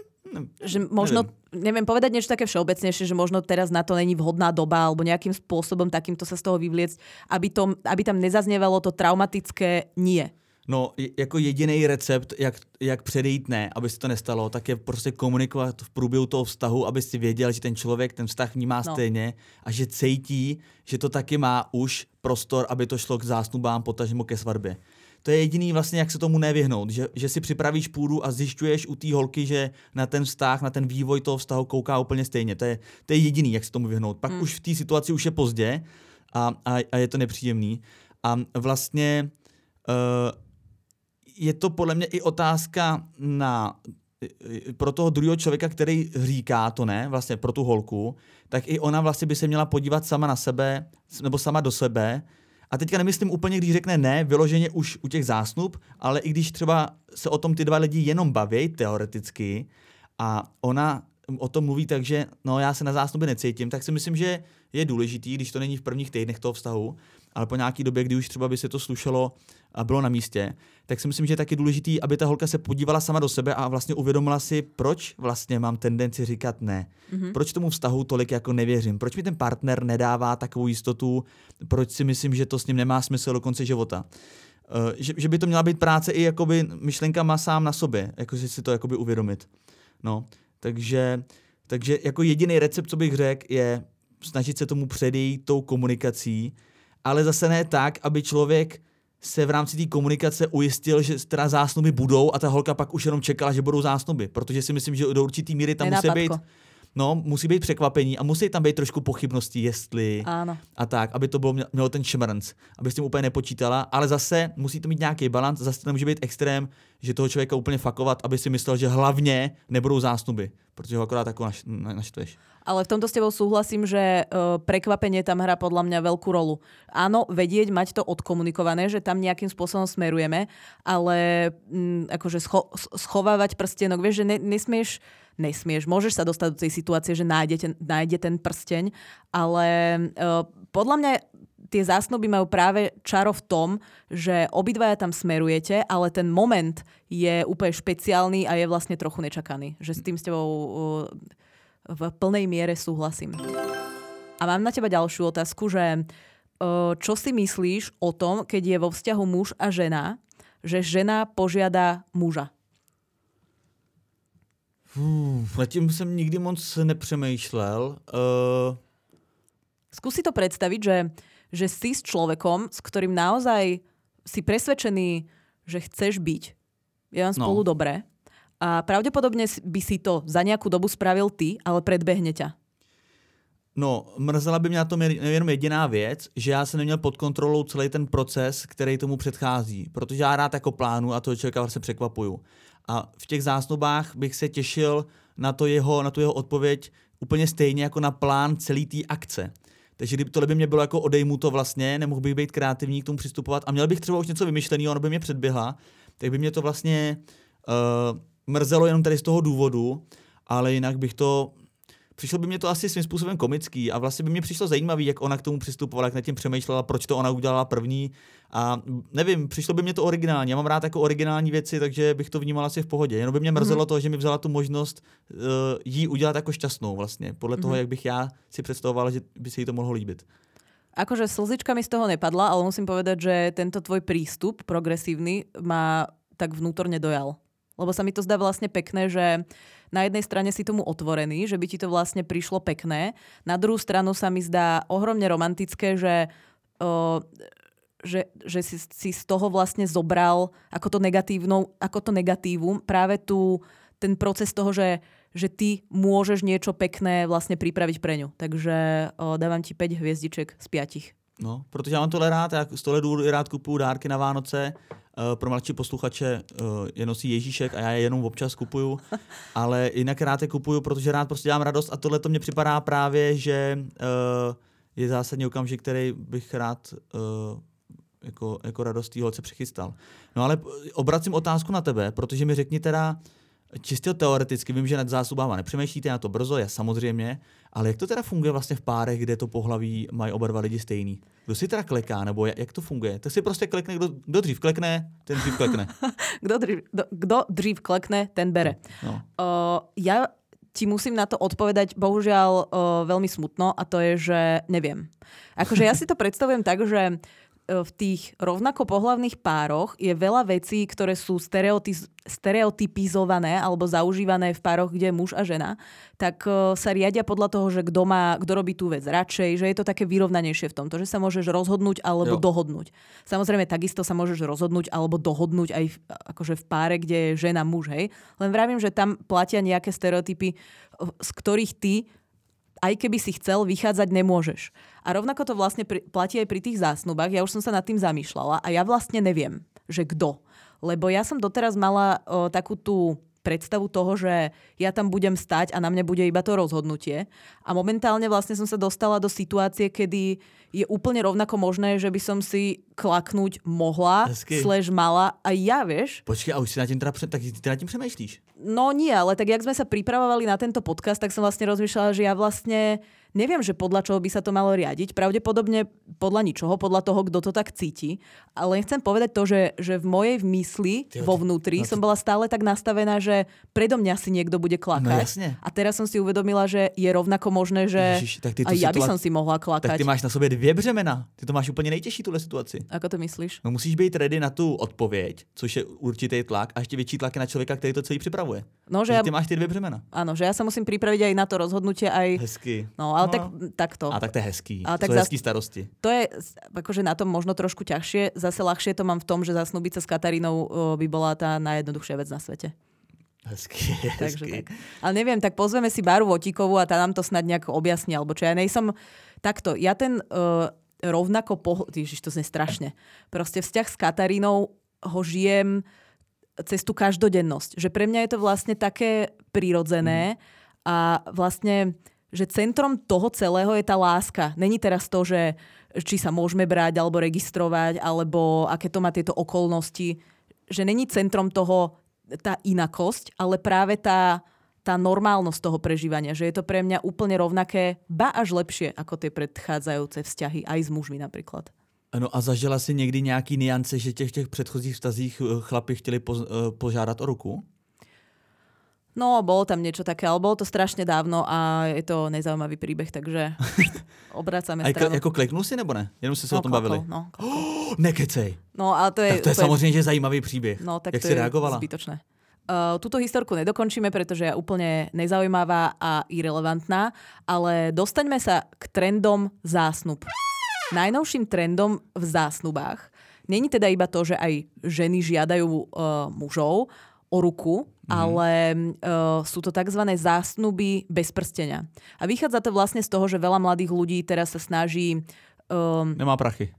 Že možno, neviem, povedať niečo také všeobecnejšie, že možno teraz na to není vhodná doba alebo nejakým spôsobom takýmto sa z toho vyvliecť, aby, to, aby tam nezaznievalo to traumatické nie. No, jako jediný recept, jak, jak předejít ne, aby se to nestalo, tak je prostě komunikovat v průběhu toho vztahu, aby si věděl, že ten člověk ten vztah vnímá no. stejně a že cítí, že to taky má už prostor, aby to šlo k zásnubám, potažmo ke svatbě. To je jediný vlastně, jak se tomu nevyhnout, že, že si připravíš půdu a zjišťuješ u té holky, že na ten vztah, na ten vývoj toho vztahu kouká úplně stejně. To je, to je jediný, jak se tomu vyhnout. Pak hmm. už v té situaci už je pozdě a, a, a je to nepříjemný. A vlastně uh, je to podle mě i otázka na, pro toho druhého člověka, který říká to ne, vlastně pro tu holku, tak i ona vlastně by se měla podívat sama na sebe, nebo sama do sebe. A teďka nemyslím úplně, když řekne ne, vyloženě už u těch zásnub, ale i když třeba se o tom ty dva lidi jenom baví teoreticky a ona o tom mluví tak, že no já se na zásnuby necítím, tak si myslím, že je důležitý, když to není v prvních týdnech toho vztahu, ale po nějaký době, kdy už třeba by se to slušelo a bylo na místě, tak si myslím, že je taky důležitý, aby ta holka se podívala sama do sebe a vlastně uvědomila si, proč vlastně mám tendenci říkat ne. Mm-hmm. Proč tomu vztahu tolik jako nevěřím. Proč mi ten partner nedává takovou jistotu, proč si myslím, že to s ním nemá smysl do konce života. Uh, že, že by to měla být práce i jakoby myšlenkama sám na sobě, jakože si to jakoby uvědomit. No, takže, takže jako jediný recept, co bych řekl, je snažit se tomu předejít tou komunikací, ale zase ne tak, aby člověk se v rámci té komunikace ujistil, že teda zásnuby budou a ta holka pak už jenom čekala, že budou zásnuby, protože si myslím, že do určitý míry tam musí být, no, musí být překvapení a musí tam být trošku pochybnosti, jestli Áno. a tak, aby to bylo, mělo ten šmrnc, aby s tím úplně nepočítala, ale zase musí to mít nějaký balans, zase to nemůže být extrém, že toho člověka úplně fakovat, aby si myslel, že hlavně nebudou zásnuby, protože ho akorát tako naš, naštveš. Ale v tomto s tebou súhlasím, že uh, prekvapenie tam hrá podľa mňa veľkú rolu. Áno, vedieť, mať to odkomunikované, že tam nejakým spôsobom smerujeme, ale um, akože scho- schovávať prstenok, vieš, že ne- nesmieš, nesmieš, môžeš sa dostať do tej situácie, že nájde ten, nájde ten prsteň, ale uh, podľa mňa tie zásnuby majú práve čaro v tom, že obidvaja tam smerujete, ale ten moment je úplne špeciálny a je vlastne trochu nečakaný. Že s tým s tebou... Uh, v plnej miere súhlasím. A mám na teba ďalšiu otázku, že čo si myslíš o tom, keď je vo vzťahu muž a žena, že žena požiada muža? Uf, nad tím jsem nikdy moc nepřemýšlel. Uh... Skúsi to predstaviť, že, že si s človekom, s ktorým naozaj si presvedčený, že chceš byť. Je vám spolu no. dobre. A pravdepodobne by si to za nejakú dobu spravil ty, ale predbehne ťa. No, mrzela by mě na tom jenom jediná věc, že já jsem neměl pod kontrolou celý ten proces, který tomu předchází. Protože já rád jako plánu a toho člověka vlastně překvapuju. A v těch zásnubách bych se těšil na, to jeho, na tu jeho odpověď úplně stejně jako na plán celý té akce. Takže kdyby tohle by mě bylo jako odejmuto vlastně, nemohl bych být kreativní k tomu přistupovat a měl bych třeba už něco vymyšleného, ono by mě předběhla, tak by mě to vlastně... Uh, mrzelo jenom tady z toho důvodu, ale jinak bych to... Přišlo by mě to asi svým způsobem komický a vlastně by mě přišlo zajímavý, jak ona k tomu přistupovala, jak nad tím přemýšlela, proč to ona udělala první a nevím, přišlo by mě to originální. Já mám rád jako originální věci, takže bych to vnímal asi v pohodě. Jenom by mě mrzelo mm-hmm. to, že mi vzala tu možnost uh, jí udělat jako šťastnou vlastně, podle mm-hmm. toho, jak bych já si představoval, že by se jí to mohlo líbit. Akože slzička mi z toho nepadla, ale musím povedať, že tento tvoj prístup progresívny ma tak vnútorne dojal. Lebo sa mi to zdá vlastne pekné, že na jednej strane si tomu otvorený, že by ti to vlastne prišlo pekné. Na druhú stranu sa mi zdá ohromne romantické, že, o, že, že si, si z toho vlastne zobral ako to, ako to negatívum práve tu, ten proces toho, že, že ty môžeš niečo pekné vlastne pripraviť pre ňu. Takže o, dávam ti päť hviezdiček z piatich. No, protože já mám tohle rád, já z tohle důvodu rád kupuju dárky na Vánoce. Uh, pro mladší posluchače uh, je nosí Ježíšek a já je jenom občas kupuju, ale jinak rád je kupuju, protože rád prostě dělám radost a tohle to mně připadá právě, že uh, je zásadní okamžik, který bych rád uh, jako, jako radost té holce přichystal. No ale obracím otázku na tebe, protože mi řekni teda, čistě teoreticky, vím, že nad zásubama nepřemýšlíte na to brzo, já samozřejmě, ale jak to teda funguje vlastně v párech, kde to pohlaví mají oba dva lidi stejný? Kdo si teda kleká, nebo jak to funguje? Tak si prostě klekne, kdo, kdo dřív klekne, ten dřív klekne. kdo, dřív, kdo, kdo dřív klekne, ten bere. No. Uh, ja ti musím na to odpovedať bohužiaľ uh, veľmi smutno a to je, že neviem. Akože ja si to predstavujem tak, že v tých rovnako pohlavných pároch je veľa vecí, ktoré sú stereoty- stereotypizované alebo zaužívané v pároch, kde je muž a žena, tak uh, sa riadia podľa toho, že kto má, kto robí tú vec radšej, že je to také vyrovnanejšie v tomto, že sa môžeš rozhodnúť alebo jo. dohodnúť. Samozrejme, takisto sa môžeš rozhodnúť alebo dohodnúť aj v, akože v páre, kde je žena, muž, hej. Len vravím, že tam platia nejaké stereotypy, z ktorých ty aj keby si chcel, vychádzať nemôžeš. A rovnako to vlastne pri, platí aj pri tých zásnubách. Ja už som sa nad tým zamýšľala a ja vlastne neviem, že kto. Lebo ja som doteraz mala o, takú tú predstavu toho, že ja tam budem stať a na mne bude iba to rozhodnutie. A momentálne vlastne som sa dostala do situácie, kedy je úplne rovnako možné, že by som si klaknúť mohla, Hezky. slash mala aj ja, vieš. Počkej, a už si na tým, teda, tak ty na tým přemýšlíš? No nie, ale tak jak sme sa pripravovali na tento podcast, tak som vlastne rozmýšľala, že ja vlastne neviem, že podľa čoho by sa to malo riadiť. Pravdepodobne podľa ničoho, podľa toho, kto to tak cíti. Ale chcem povedať to, že, že v mojej mysli, Tyjo, vo vnútri, no, som bola stále tak nastavená, že predo mňa si niekto bude klakať. No jasne. A teraz som si uvedomila, že je rovnako možné, že Ježiš, tak ty aj ja by som si mohla klakať. Tak ty máš na sobě dvě břemena. Ty to máš úplně nejtěžší, tuhle situaci. Ako to myslíš? No musíš být ready na tu odpověď, což je určitý tlak, a ještě větší tlak na člověka, který to celý připravuje. No, že ja... ty máš ty dvě břemena. Áno, že ja sa musím pripraviť aj na to rozhodnutie, aj... Hezky. No, Ale no. tak, takto. A tak to je hezký. A to sú hezký starosti. To je akože na tom možno trošku ťažšie. Zase ľahšie to mám v tom, že zasnúbiť sa s Katarínou by bola tá najjednoduchšia vec na svete. Hezký, Takže hezký. tak. Ale neviem, tak pozveme si Báru Votíkovú a tá nám to snad nejak objasní. Alebo čo ja nejsom... Takto, ja ten uh, rovnako... Po... Ježiš, to znie strašne. Proste vzťah s Katarínou ho žijem cez tú každodennosť. Že pre mňa je to vlastne také prirodzené mm. a vlastne, že centrom toho celého je tá láska. Není teraz to, že či sa môžeme brať alebo registrovať, alebo aké to má tieto okolnosti. Že není centrom toho tá inakosť, ale práve tá, tá normálnosť toho prežívania. Že je to pre mňa úplne rovnaké, ba až lepšie ako tie predchádzajúce vzťahy, aj s mužmi napríklad. No a zažila si někdy nějaký niance, že těch, těch předchozích vztazích chlapi chtěli po, požádat o ruku? No, bolo tam niečo také, ale bolo to strašne dávno a je to nezaujímavý príbeh, takže obracame stranu. A jako kliknul si nebo ne? Jenom si se no, o tom klakol, bavili. No, oh, nekecej. No, ale to je, tak to je úplne... samozřejmě že zajímavý příběh. No, tak jak to si je reagovala? Zbytočné. Uh, túto historku nedokončíme, pretože je úplne nezaujímavá a irelevantná, ale dostaňme sa k trendom zásnub. Najnovším trendom v zásnubách není teda iba to, že aj ženy žiadajú uh, mužov o ruku, mm. ale uh, sú to tzv. Zásnuby bez prstenia. A vychádza to vlastne z toho, že veľa mladých ľudí teraz sa snaží... Um, Nemá prachy.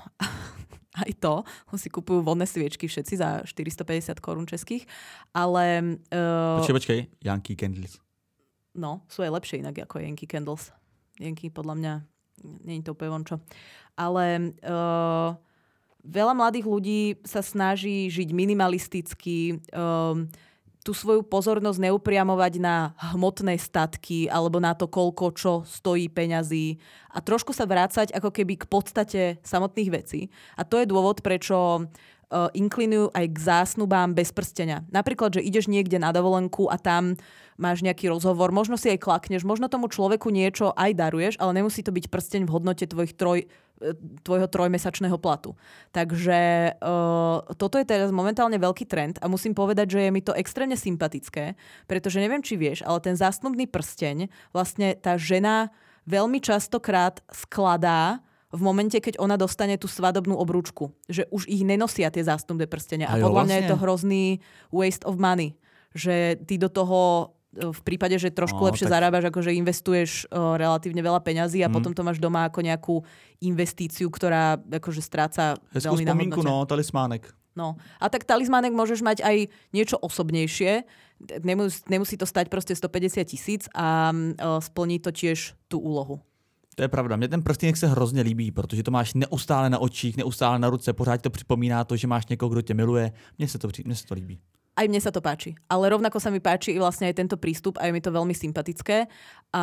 Aj to, si kupujú vodné sviečky všetci za štyristopäťdesiat korún českých, ale... Uh, počkej, počkej, Yankee Candles. No, sú aj lepšie inak ako Yankee Candles. Yankee podľa mňa, nie je to úplne vončo. Ale... Uh, Veľa mladých ľudí sa snaží žiť minimalisticky, um, tú svoju pozornosť neupriamovať na hmotné statky alebo na to, koľko čo stojí peňazí a trošku sa vrácať ako keby k podstate samotných vecí. A to je dôvod, prečo uh, inklinujú aj k zásnubám bez prstenia. Napríklad, že ideš niekde na dovolenku a tam máš nejaký rozhovor, možno si aj klakneš, možno tomu človeku niečo aj daruješ, ale nemusí to byť prsteň v hodnote tvojich troj, tvojho trojmesačného platu. Takže uh, toto je teraz momentálne veľký trend a musím povedať, že je mi to extrémne sympatické, pretože neviem, či vieš, ale ten zásnubný prsteň vlastne tá žena veľmi častokrát skladá v momente, keď ona dostane tú svadobnú obrúčku. Že už ich nenosia tie zásnubné prstenia. A, a podľa vlastne? mňa je to hrozný waste of money. Že ty do toho v prípade, že trošku no, lepšie tak... zarábaš, akože investuješ uh, relatívne veľa peňazí a mm. potom to máš doma ako nejakú investíciu, ktorá akože stráca Hezkú veľmi na hodnote. Hezkú spomínku, no, talismánek. No. A tak talismánek môžeš mať aj niečo osobnejšie. Nemus, nemusí to stať proste stopäťdesiat tisíc a uh, splní to tiež tú úlohu. To je pravda. Mně ten prstýnek se hrozně líbí, protože to máš neustále na očích, neustále na ruce, pořád to připomíná to, že máš někoho, kdo tě miluje. Mně se to, mně se to líbí. Aj mne sa to páči. Ale rovnako sa mi páči i vlastne aj tento prístup a je mi to veľmi sympatické. A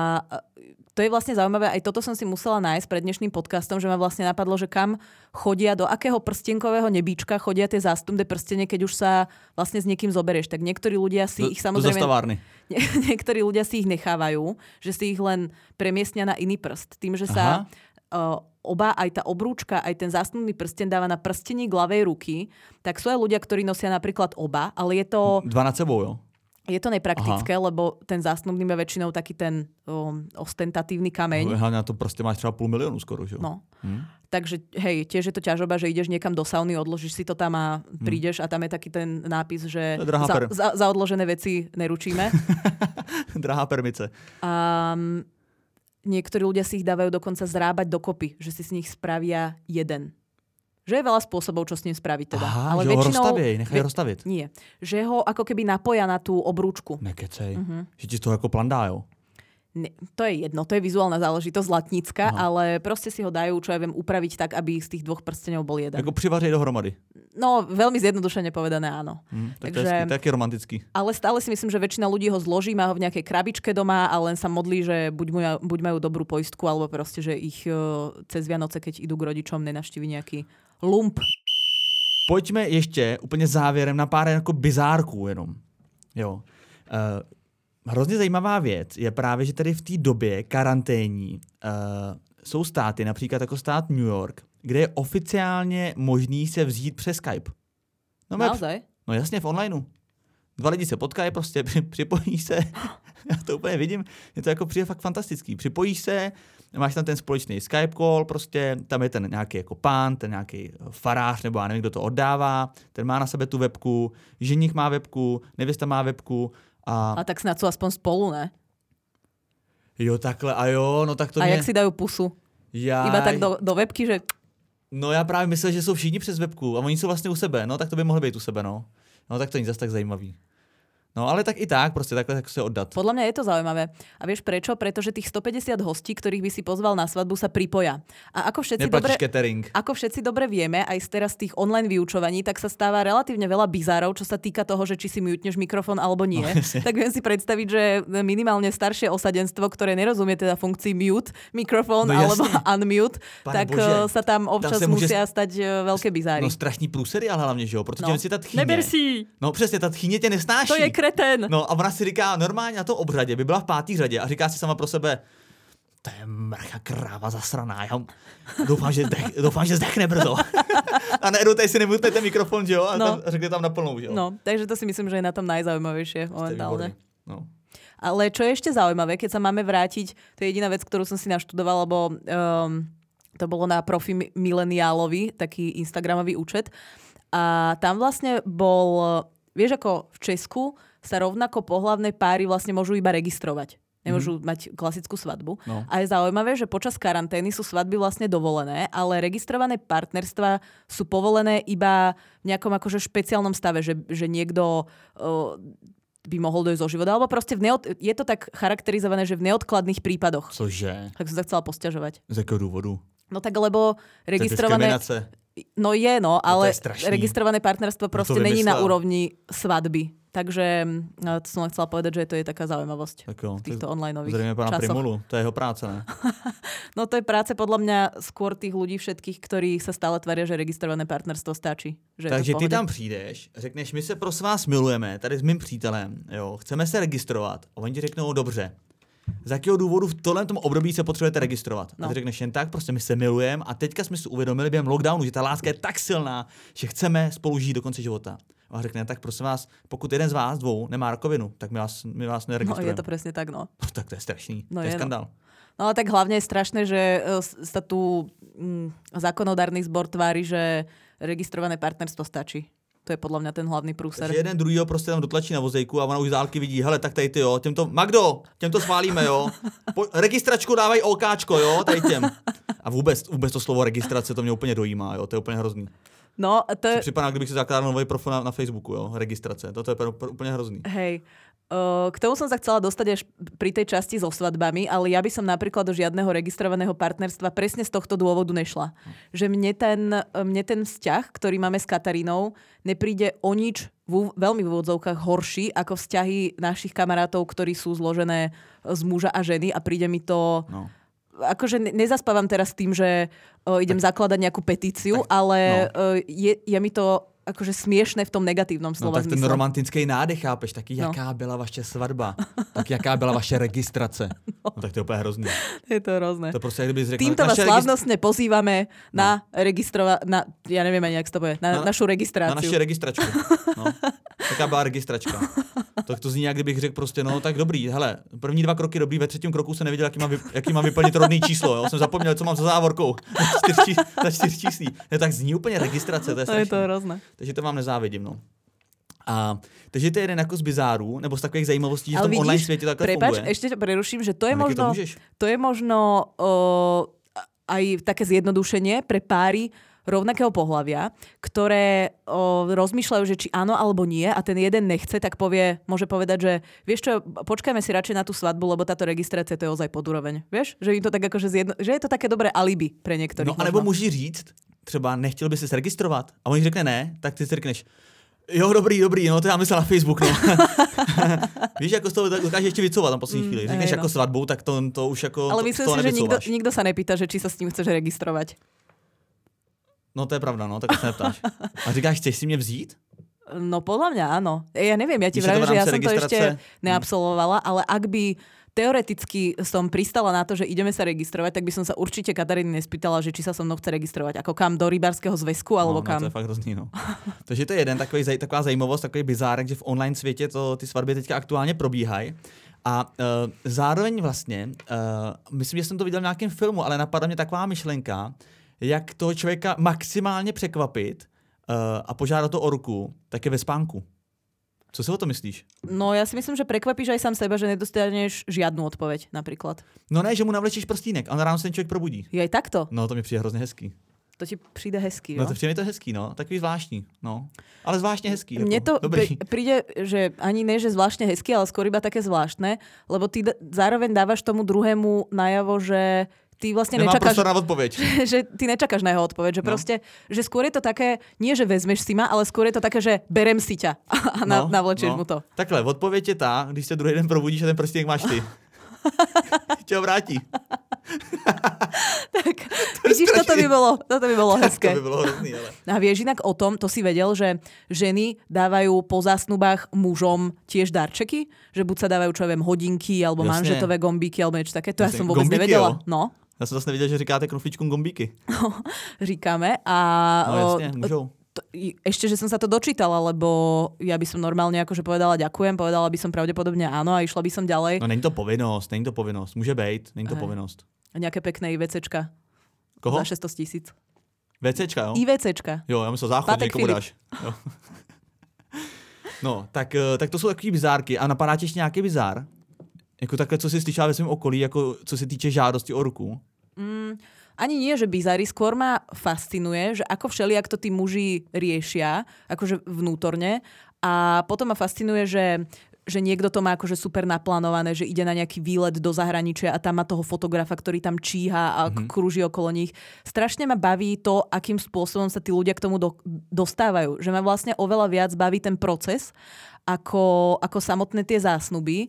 to je vlastne zaujímavé. Aj toto som si musela nájsť pred dnešným podcastom, že ma vlastne napadlo, že kam chodia, do akého prstenkového nebíčka chodia tie zástupné prstenie, keď už sa vlastne s niekým zoberieš. Tak niektorí ľudia si do, ich samozrejme... Do zastavárny. Niektorí ľudia si ich nechávajú, že si ich len premiestnia na iný prst. Tým, že sa... Uh, oba, aj tá obrúčka, aj ten zásnubný prsteň dáva na prstení ľavej ruky, tak sú aj ľudia, ktorí nosia napríklad oba, ale je to... Dva nad sebou, jo? Je to nepraktické, Aha. lebo ten zásnubný má väčšinou taký ten um, ostentatívny kameň. Hlavne na to proste máš třeba půl miliónu skoro, že jo? No. Hm? Takže hej, tiež je to ťažoba, že ideš niekam do sauny, odložíš si to tam a prídeš hm. a tam je taký ten nápis, že za, per... za, za odložené veci neručíme. Drahá permice. Um, Niektorí ľudia si ich dávajú dokonca zrábať dokopy, že si z nich spravia jeden. Že je veľa spôsobov, čo s ním spraviť teda. Aha, ale že väčšinou, ho rozstaví, nechaj ho rozstaviť. Nie. Že ho ako keby napoja na tú obrúčku. Nekecej. Uh-huh. Že ti z toho ako plandá, jo? Ne, to je jedno, to je vizuálna záležitosť zlatnícka, Aha. ale proste si ho dajú, čo ja viem, upraviť tak, aby z tých dvoch prstenov bol jeden. Ako privařej dohromady. No, veľmi zjednodušene povedané, áno. Mm, tak Takže, to je taký romantický. Ale stále si myslím, že väčšina ľudí ho zloží, má ho v nejakej krabičke doma a len sa modlí, že buď, mu, buď majú dobrú poistku, alebo proste, že ich uh, cez Vianoce, keď idú k rodičom, nenavštíví nejaký lump. Pojďme ještě úplně závěrem na pár jako bizárků jenom. Jo. Uh, Hrozně zajímavá věc je právě, že tady v té době karanténní uh, jsou státy, například jako stát New York, kde je oficiálně možný se vzít přes Skype. No, Naozaj? No jasně, v onlineu. Dva lidi se potkají, prostě připojíš se, já to úplně vidím, je to jako přijde fakt fantastický. Připojíš se, máš tam ten společný Skype call, prostě tam je ten nějaký jako pán, ten nějaký farář, nebo já nevím, kdo to oddává, ten má na sebe tu webku, ženich má webku, nevěsta má webku. A, a tak snad jsou aspoň spolu, ne? Jo, takhle, a jo, no tak to A mě... jak si dají pusu? Jaj. Iba tak do, do webky, že... No já právě myslel, že jsou všichni přes webku a oni jsou vlastně u sebe, no tak to by mohlo být u sebe, no. No tak to není zase tak zajímavý. No ale tak i tak, prostě takhle tak se oddat. Podľa mňa je to zaujímavé. A vieš prečo? Pretože tých stopäťdesiat hostí, ktorých by si pozval na svadbu, sa pripoja. A ako všetci dobre, catering. ako všetci dobre vieme, aj z teraz tých online vyučovaní, tak sa stáva relatívne veľa bizárov, čo sa týka toho, že či si mutneš mikrofón alebo nie. No, tak viem si predstaviť, že minimálne staršie osadenstvo, ktoré nerozumie teda funkcii mute, mikrofón no, alebo unmute, Pane tak Bože, sa tam občas tam musia může... stať veľké bizáry. No strašný průsery, ale hlavně, že jo, protože no. si ta tchýně. Neber si. No přesně, ta tchýně tě nesnáší. To je kreten. No a ona si říká normálně na tom obřadě, by byla v pátý řadě a říká si sama pro sebe, to je mrcha kráva zasraná, já doufám, že, zdech, doufám, že zdechne brzo. A najednou tady si nemutne ten mikrofon, že jo, a, no. tam, a řekne tam naplnou, že jo. No, takže to si myslím, že je na tom najzaujímavejšie momentálne. No. Ale čo je ešte zaujímavé, keď sa máme vrátiť, to je jediná vec, ktorú som si naštudovala, lebo um, to bolo na profi Mileniálovi, taký instagramový účet. A tam vlastne bol, vieš, ako v Česku sa rovnako pohlavné páry vlastne môžu iba registrovať. Nemôžu mm-hmm. mať klasickú svadbu. No. A je zaujímavé, že počas karantény sú svadby vlastne dovolené, ale registrované partnerstvá sú povolené iba v nejakom akože špeciálnom stave, že, že niekto uh, by mohol dojsť zo života. Alebo proste v neod... je to tak charakterizované, že v neodkladných prípadoch. Cože? Tak som sa chcela posťažovať. Z jakého dôvodu? No tak lebo registrované... No je, no, ale no registrované partnerstvo proste no není na úrovni svadby. Takže no, to som len chcela povedať, že to je taká zaujímavosť tak jo, v týchto onlineových zrejme pána časoch. Primulu, to je jeho práca, ne? No to je práce podľa mňa skôr tých ľudí všetkých, ktorí sa stále tvária, že registrované partnerstvo stačí. Že Takže ty tam přijdeš, řekneš, my se prosím vás milujeme, tady s mým přítelem, jo, chceme se registrovat. A oni ti řeknou, dobře. Z jakého důvodu v tomhle tom období se potřebujete registrovat? No. A ty řekneš jen tak, prostě my se milujeme a teďka jsme si uvědomili během lockdownu, že ta láska je tak silná, že chceme spolu žít do konce života. A řekne, tak prosím vás, pokud jeden z vás dvou nemá rakovinu, tak my vás, my vás neregistrujeme. No je to presne tak, no. No tak to je strašný, no, to je, je skandál. No. no ale tak hlavne je strašné, že sa tu mm, zákonodárny zbor tvári, že registrované partnerstvo stačí. To je podľa mňa ten hlavný průser. Takže jeden druhýho prostě tam dotlačí na vozejku a ona už z dálky vidí, hele, tak tady ty jo, těmto, Magdo, těmto schválíme, jo. Po, registračku dávaj OKčko, jo, tady těm. A vůbec, vůbec to slovo registrace, to mě úplně dojímá, jo, to je úplně hrozný. No, to je... Připadá, kdybych si zakládal nový profil na, na Facebooku, jo, registrace, to, to je úplně hrozný. Hej. K tomu som sa chcela dostať až pri tej časti so svadbami, ale ja by som napríklad do žiadneho registrovaného partnerstva presne z tohto dôvodu nešla. Že mne ten, mne ten vzťah, ktorý máme s Katarínou, nepríde o nič v, veľmi v úvodzovkách horší ako vzťahy našich kamarátov, ktorí sú zložené z muža a ženy a príde mi to... No. Akože nezaspávam teraz tým, že o, idem tak, zakladať nejakú petíciu, tak, ale no. je, je mi to... akože smiešné v tom negatívnom slova zmysle. No tak ten romantický nádech, chápeš, taky no. Jaká byla vaše svatba, tak jaká byla vaše registrace. No, no tak to je úplně hrozný. Je to hrozné. To prostě, kdyby řekl, týmto vás slávnostne pozývame no. na registrova... Na, ja neviem ani, jak to bude, na, na našu registráciu. Na naši registračku. No. Taká byla registračka. Tak to zní, jak kdybych řekl prostě, no tak dobrý, hele, první dva kroky dobrý, ve třetím kroku jsem nevěděl, jaký mám, vy, jaký mám vyplnit rodný číslo, jo? Jsem zapomněl, co mám za závorkou, za čtyř číslí. Ne, tak zní úplně registrace, to je strašný. Je to hrozné. Takže to vám nezávidím, no. A, takže to je jeden jako z bizárů, nebo z takových zajímavostí, že v tom vidíš, online světě takhle prepač, funguje. ešte ťa preruším, že to je no, možno, to, to je možno uh, aj také zjednodušenie pre páry rovnakého pohlavia, ktoré o, rozmýšľajú, že či áno alebo nie a ten jeden nechce, tak povie, môže povedať, že vieš čo, počkajme si radšej na tú svadbu, lebo táto registrácia to je ozaj podúroveň. Vieš? Že im to tak akože zjedno, že je to také dobré alibi pre niektorých. No anebo může říct, třeba nechtěl by si se registrovat a on řekne ne, tak ty si řekneš, jo, dobrý, dobrý, no to já myslel na Facebook, no. Víš, jako z toho dokáže ještě vycouvat na poslední mm, chvíli. Řekneš no. Jako svatbu, tak to, to už jako ale myslím si, že nikdo, nikdo sa nepýta, že či sa s tím chceš registrovať. No to je pravda, no, tak se neptáš. A říkáš, chceš si mě vzít? No podľa mňa áno. Ja neviem, ja ti vravím, že ja som to ešte neabsolvovala, ale ak by teoreticky som pristala na to, že ideme sa registrovať, tak by som sa určite Kataríny nespýtala, že či sa so mnou chce registrovať. Ako kam, do rybárskeho zväzku, alebo no, kam. No, to je fakt hrozný, no. Takže to je jeden takový, taková zajímavost, takový bizárek, že v online světě to, ty svatby teďka aktuálně probíhají. A uh, zároveň vlastně, uh, myslím, že jsem to viděl v nějakém filmu, ale napadla mě taková myšlenka, jak toho člověka maximálně překvapit uh, a požádat to o ruku, tak je ve spánku. Co si o to myslíš? No ja si myslím, že prekvapíš aj sám seba, že nedostaneš žiadnu odpoveď napríklad. No ne, že mu navlečíš prstínek a na ráno se ten člověk probudí. Je aj takto? No to mi přijde hrozně hezký. To ti přijde hezký, jo? No to přijde mi to hezký, no. Takový zvláštní, no. Ale zvláštně hezký. Mne to jako, dobrý. príde, že ani ne, že zvláštne hezký, ale skôr iba také zvláštne, lebo ty d- zároveň dávaš tomu druhému najavo, že ty vlastne Nemá nečakáš... prostor na odpoveď. že ty nečakáš na jeho odpoveď, že no. proste, že skôr je to také, nie že vezmeš si ma, ale skôr je to také, že berem si ťa a na, no, navlečieš no. mu to. Takhle, odpověď je tá, když se druhý den probudíš a ten prstínek máš ty. Tě ho vrátí. Tak, vidíš, toto by bolo, toto by bolo hezké. To by bolo hrozný, ale... A vieš inak o tom, to si vedel, že ženy dávajú po zásnubách mužom tiež darčeky? Že buď sa dávajú, čo ja viem, hodinky, alebo Jasne. manžetové gombíky, alebo niečo také. To Jasne. ja som vôbec gombíky, nevedela. Jo? No. Já jsem zase nevěděl, že říkáte knoflíčkům gombíky. No, říkáme. A, no jasne, môžou. To, ešte, že som sa to dočítala, lebo ja by som normálne akože povedala ďakujem, povedala by som pravdepodobne áno a išla by som ďalej. No není to povinnosť, není to povinnosť. Môže být, není to Aj. povinnosť. A nejaké pekné IVCčka. Koho? Za šesťsto tisíc. VCčka, jo? IVCčka. Jo, já myslel záchod, někomu dáš. Jo. No, tak, tak to jsou takový bizárky. A napadá ti ještě nějaký bizár? Jako takhle, co si slyšela ve svém okolí, jako co se týče žádosti o ruku? Mm, ani nie, že bizári, skôr ma fascinuje, že ako všelijak to tí muži riešia, akože vnútorne. A potom ma fascinuje, že, že niekto to má akože super naplánované, že ide na nejaký výlet do zahraničia a tam má toho fotografa, ktorý tam číha a mm-hmm. krúži okolo nich. Strašne ma baví to, akým spôsobom sa tí ľudia k tomu do, dostávajú. Že ma vlastne oveľa viac baví ten proces, ako, ako samotné tie zásnuby.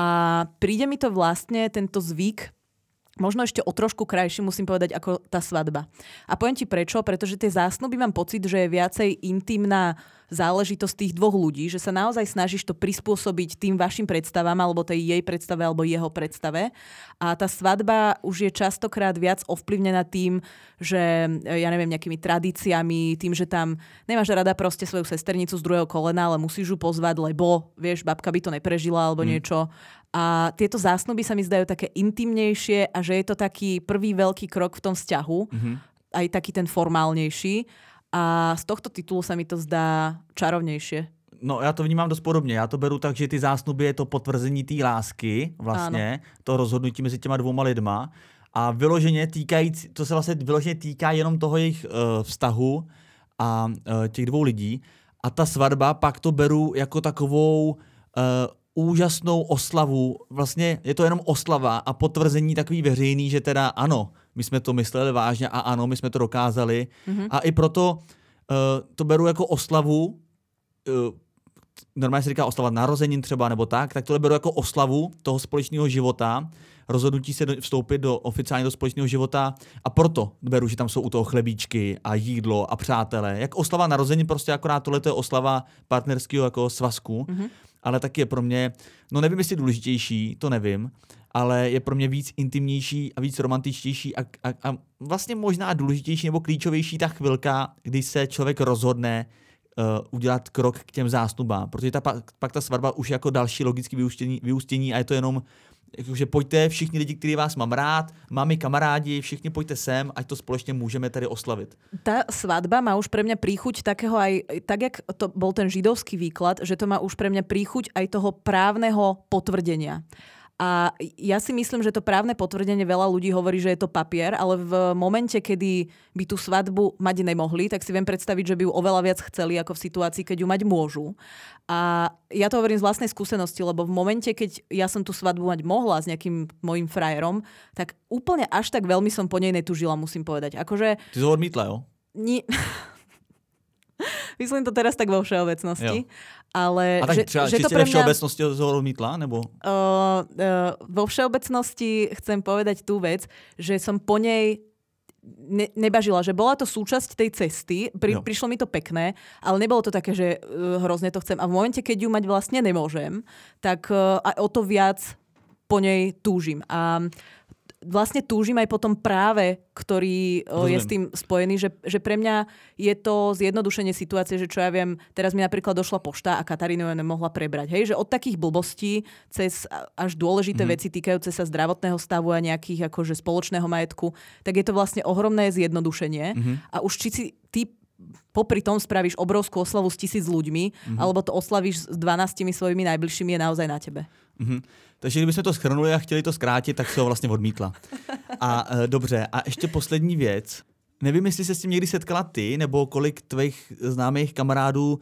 A príde mi to vlastne, tento zvyk, možno ešte o trošku krajší, musím povedať, ako tá svadba. A poviem ti prečo, pretože tie zásnuby mám pocit, že je viacej intimná záležitosť tých dvoch ľudí, že sa naozaj snažíš to prispôsobiť tým vašim predstavám, alebo tej jej predstave, alebo jeho predstave. A tá svadba už je častokrát viac ovplyvnená tým, že, ja neviem, nejakými tradíciami, tým, že tam nemáš rada proste svoju sesternicu z druhého kolena, ale musíš ju pozvať, lebo, vieš, babka by to neprežila, alebo mm. niečo. A tieto zásnuby sa mi zdajú také intimnejšie a že je to taký prvý veľký krok v tom vzťahu, mm-hmm. aj taký ten formálnejší. A z tohto titulu sa mi to zdá čarovnejšie. No já to vnímám dost podobně. Já to beru tak, že ty zásnuby je to potvrzení té lásky, vlastně, ano. To rozhodnutí mezi těma dvouma lidma. A vyloženě týkající, to se vlastně vyloženě týká jenom toho jejich uh, vztahu a uh, těch dvou lidí. A ta svatba pak to beru jako takovou uh, úžasnou oslavu. Vlastně je to jenom oslava a potvrzení takový veřejný, že teda ano, my jsme to mysleli vážně a ano, my jsme to dokázali. Mm-hmm. A i proto uh, to beru jako oslavu, uh, normálně se říká oslava narozenin třeba nebo tak, tak tohle beru jako oslavu toho společného života, rozhodnutí se do, vstoupit do oficiálně do společného života a proto beru, že tam jsou u toho chlebíčky a jídlo a přátelé. Jak oslava narozenin, prostě akorát tohle je oslava partnerského jako svazku, mm-hmm. ale taky je pro mě, no nevím, jestli důležitější, to nevím, ale je pro mě víc intimnější a víc romantičtější a, a, a vlastně možná důležitější nebo klíčovější ta chvilka, kdy se člověk rozhodne uh, udělat krok k těm zásnubám, protože ta, pak, pak ta svatba už je jako další logické vyústění, vyústění a je to jenom že pojďte všichni lidi, kteří vás mám rád, mami, kamarádi, všichni pojďte sem, ať to společně můžeme tady oslavit. Tá svadba má už pre mňa príchuť takého aj, tak jak to bol ten židovský výklad, že to má už pre mňa príchuť aj toho právneho potvrdenia. A ja si myslím, že to právne potvrdenie veľa ľudí hovorí, že je to papier, ale v momente, kedy by tú svadbu mať nemohli, tak si viem predstaviť, že by ju oveľa viac chceli ako v situácii, keď ju mať môžu. A ja to hovorím z vlastnej skúsenosti, lebo v momente, keď ja som tú svadbu mať mohla s nejakým mojím frajerom, tak úplne až tak veľmi som po nej netužila, musím povedať. Akože... Ty to odmítla, jo? Ni... Myslím to teraz tak vo všeobecnosti. Jo. Ale a tak že, třeba že to pre mňa... všeobecnosti ho odmítla? Nebo? Uh, uh, vo všeobecnosti chcem povedať tú vec, že som po nej ne, nebažila, že bola to súčasť tej cesty, pri, prišlo mi to pekné, ale nebolo to také, že uh, hrozne to chcem. A v momente, keď ju mať vlastne nemôžem, tak uh, aj o to viac po nej túžim. A vlastne túžim aj po tom práve, ktorý o, je s tým spojený, že, že pre mňa je to zjednodušenie situácie, že čo ja viem, teraz mi napríklad došla pošta a Katarína ju nemohla prebrať. Hej, že od takých blbostí cez až dôležité mm-hmm. veci týkajúce sa zdravotného stavu a nejakých akože spoločného majetku, tak je to vlastne ohromné zjednodušenie. Mm-hmm. A už či si ty popri tom spravíš obrovskú oslavu s tisíc ľuďmi, mm-hmm. alebo to oslavíš s dvanáctimi svojimi najbližšími, je naozaj na tebe. Mm-hmm. Takže kdybychom to shrnuli a chtěli to zkrátit, tak se ho vlastně odmítla. A e, dobře, a ještě poslední věc. Nevím, jestli se s tím někdy setkala ty, nebo kolik tvých známých kamarádů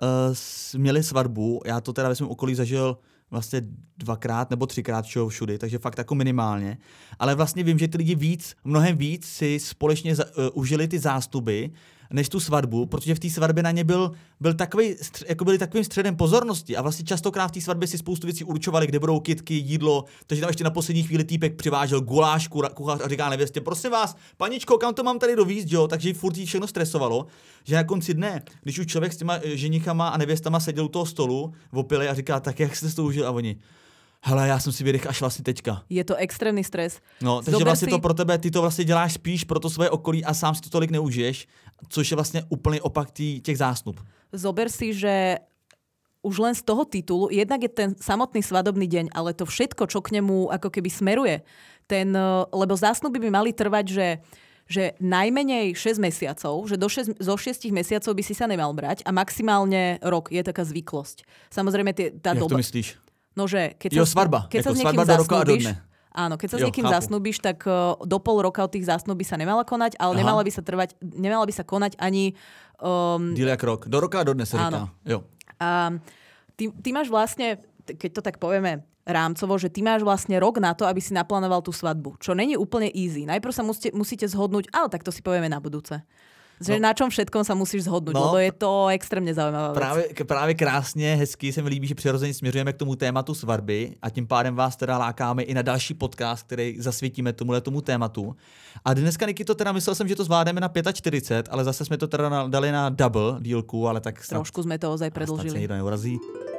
e, měli svatbu. Já to teda ve svém okolí zažil vlastně dvakrát nebo třikrát všeho všudy, takže fakt jako minimálně. Ale vlastně vím, že ty lidi víc, mnohem víc si společně za, uh, užili ty zástupy, než tu svatbu, protože v té svatbě na ně byl, byl takový, jako byli takovým středem pozornosti a vlastně častokrát v té svatbě si spoustu věcí určovali, kde budou kytky, jídlo, takže tam ještě na poslední chvíli týpek přivážel guláš, kuchař a říká nevěstě, prosím vás, paničko, kam to mám tady dovízt, jo? Takže furt jí všechno stresovalo, že na konci dne, když už člověk s těma ženichama a nevěstama seděl u toho stolu, opili a říká, tak jak jste to užil a oni, hele, já jsem si vydech až vlastně teďka. Je to extrémní stres. No, takže Zober vlastně si... to pro tebe, ty to vlastně děláš spíš pro to svoje okolí a sám si to tolik neužiješ, což je vlastně úplný opak tý, těch zásnub. Zober si, že už len z toho titulu, jednak je ten samotný svadobný deň, ale to všetko, čo k nemu ako keby smeruje, ten, lebo zásnuby by mali trvať, že že najmenej šesť mesiacov, že do šesť, zo šiestich mesiacov by si sa nemal brať a maximálne rok je taká zvyklosť. Samozrejme, tie, tá Jak doba... to myslíš? No, že keď jo, sa, svadba. keď jako sa s niekým zasnúbiš, áno, keď sa jo, s niekým chápu. zasnúbiš, tak uh, do pol roka od tých zásnub by sa nemala konať, ale nemala by sa trvať, nemala by sa konať ani... Um, Díl jak rok. Do roka a do dne sa říká. Jo. A ty, ty máš vlastne, keď to tak povieme rámcovo, že ty máš vlastne rok na to, aby si naplánoval tú svadbu, čo není úplne easy. Najprv sa musíte, musíte zhodnúť, ale tak to si povieme na budúce. Že no. Na čom všetkom sa musíš zhodnúť, no, lebo je to extrémně zaujímavá věc. Právě, právě krásně, hezky se mi líbí, že přirozeně směřujeme k tomu tématu svatby a tím pádem vás teda lákáme i na další podcast, který zasvětíme tomuhle tomu tématu. A dneska, Niky, to teda myslel jsem, že to zvládneme na čtyřicet pět, ale zase jsme to teda dali na double dílku, ale tak snad, trošku jsme to ozaj predlžili. Snad se nikdo neurazí.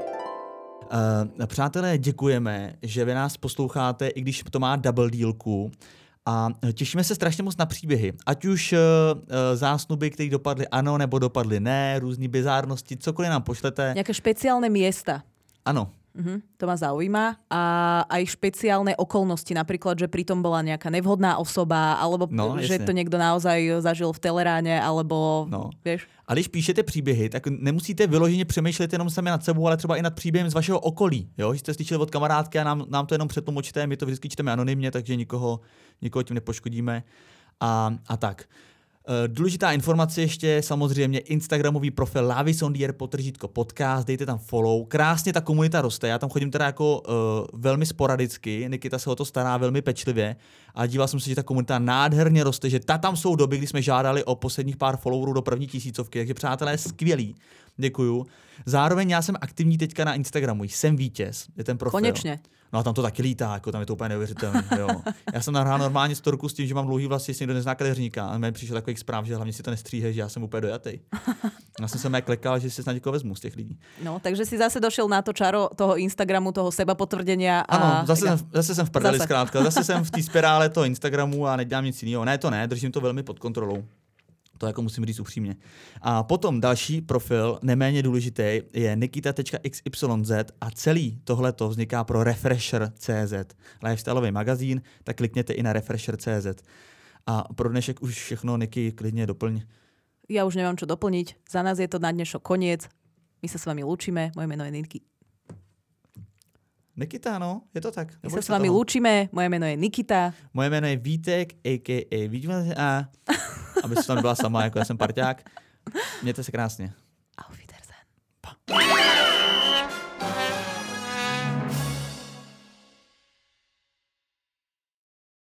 Uh, přátelé, děkujeme, že vy nás posloucháte, i když to má double dílku. A těšíme se strašně moc na příběhy. Ať už uh, zásnuby, které dopadly ano nebo dopadly ne, různý bizárnosti, cokoliv nám pošlete. Nějaké špeciálne miesta. Ano. Uh-huh, to ma zaujíma. A aj špeciálne okolnosti, napríklad, že pritom bola nejaká nevhodná osoba, alebo no, že jasně. to niekto naozaj zažil v teleráne, alebo no. vieš. A když píšete příběhy, tak nemusíte vyloženě přemýšlet jenom sami nad sebou, ale třeba i nad příběhem z vašeho okolí. Jo? Že jste slyšeli od kamarádky a nám, nám to jenom přetlumočíte, my to vždycky čteme anonymně, takže nikoho, nikoho tím nepoškodíme. A, a tak. Důležitá informace ještě samozřejmě Instagramový profil Lavisondier potržítko podcast, dejte tam follow. Krásně ta komunita roste, já tam chodím teda jako uh, velmi sporadicky, Nikita se o to stará velmi pečlivě a díval jsem se, že ta komunita nádherně roste, že ta tam jsou doby, kdy jsme žádali o posledních pár followerů do první tisícovky, takže přátelé, skvělý. Děkuju. Zároveň já jsem aktivní teďka na Instagramu, jsem vítěz, je ten profil. Konečně. No a tam to taky lítá, jako tam je to úplně neuvěřitelné. Jo. Já jsem nahrál normálně storku s tím, že mám dlouhý vlasy, jestli někdo nezná kadeřníka. A mi přišel takových zpráv, že hlavně si to nestříhej, že já jsem úplně dojatý. Já jsem se mě klekal, že si snad někoho vezmu z těch lidí. No, takže si zase došel na to čaro toho Instagramu, toho seba potvrdenia. A... Ano, zase, jsem, zase jsem v prdeli zkrátka. Zase jsem v té spirále toho Instagramu a nedělám nic jiného. Ne, to ne, držím to velmi pod kontrolou. To jako musím říct upřímně. A potom další profil, neméně důležitý, je nikita tečka x y z a celý tohleto vzniká pro Refresher tečka cé zet. Lifestyleový magazín, tak klikněte i na Refresher tečka cé zet. A pro dnešek už všechno, Niky, klidně doplň. Ja už nemám čo doplniť. Za nás je to na dnešok koniec. My sa s vami lúčime. Moje meno je Niky. Nikita, no, je to tak. My sa s vami lúčime. Moje meno je Nikita. Moje meno je Vítek, a ká a Vítek. A aby se tam byla sama, jako já jsem parťák. Mějte se krásně. Auf Wiedersehen. Pa.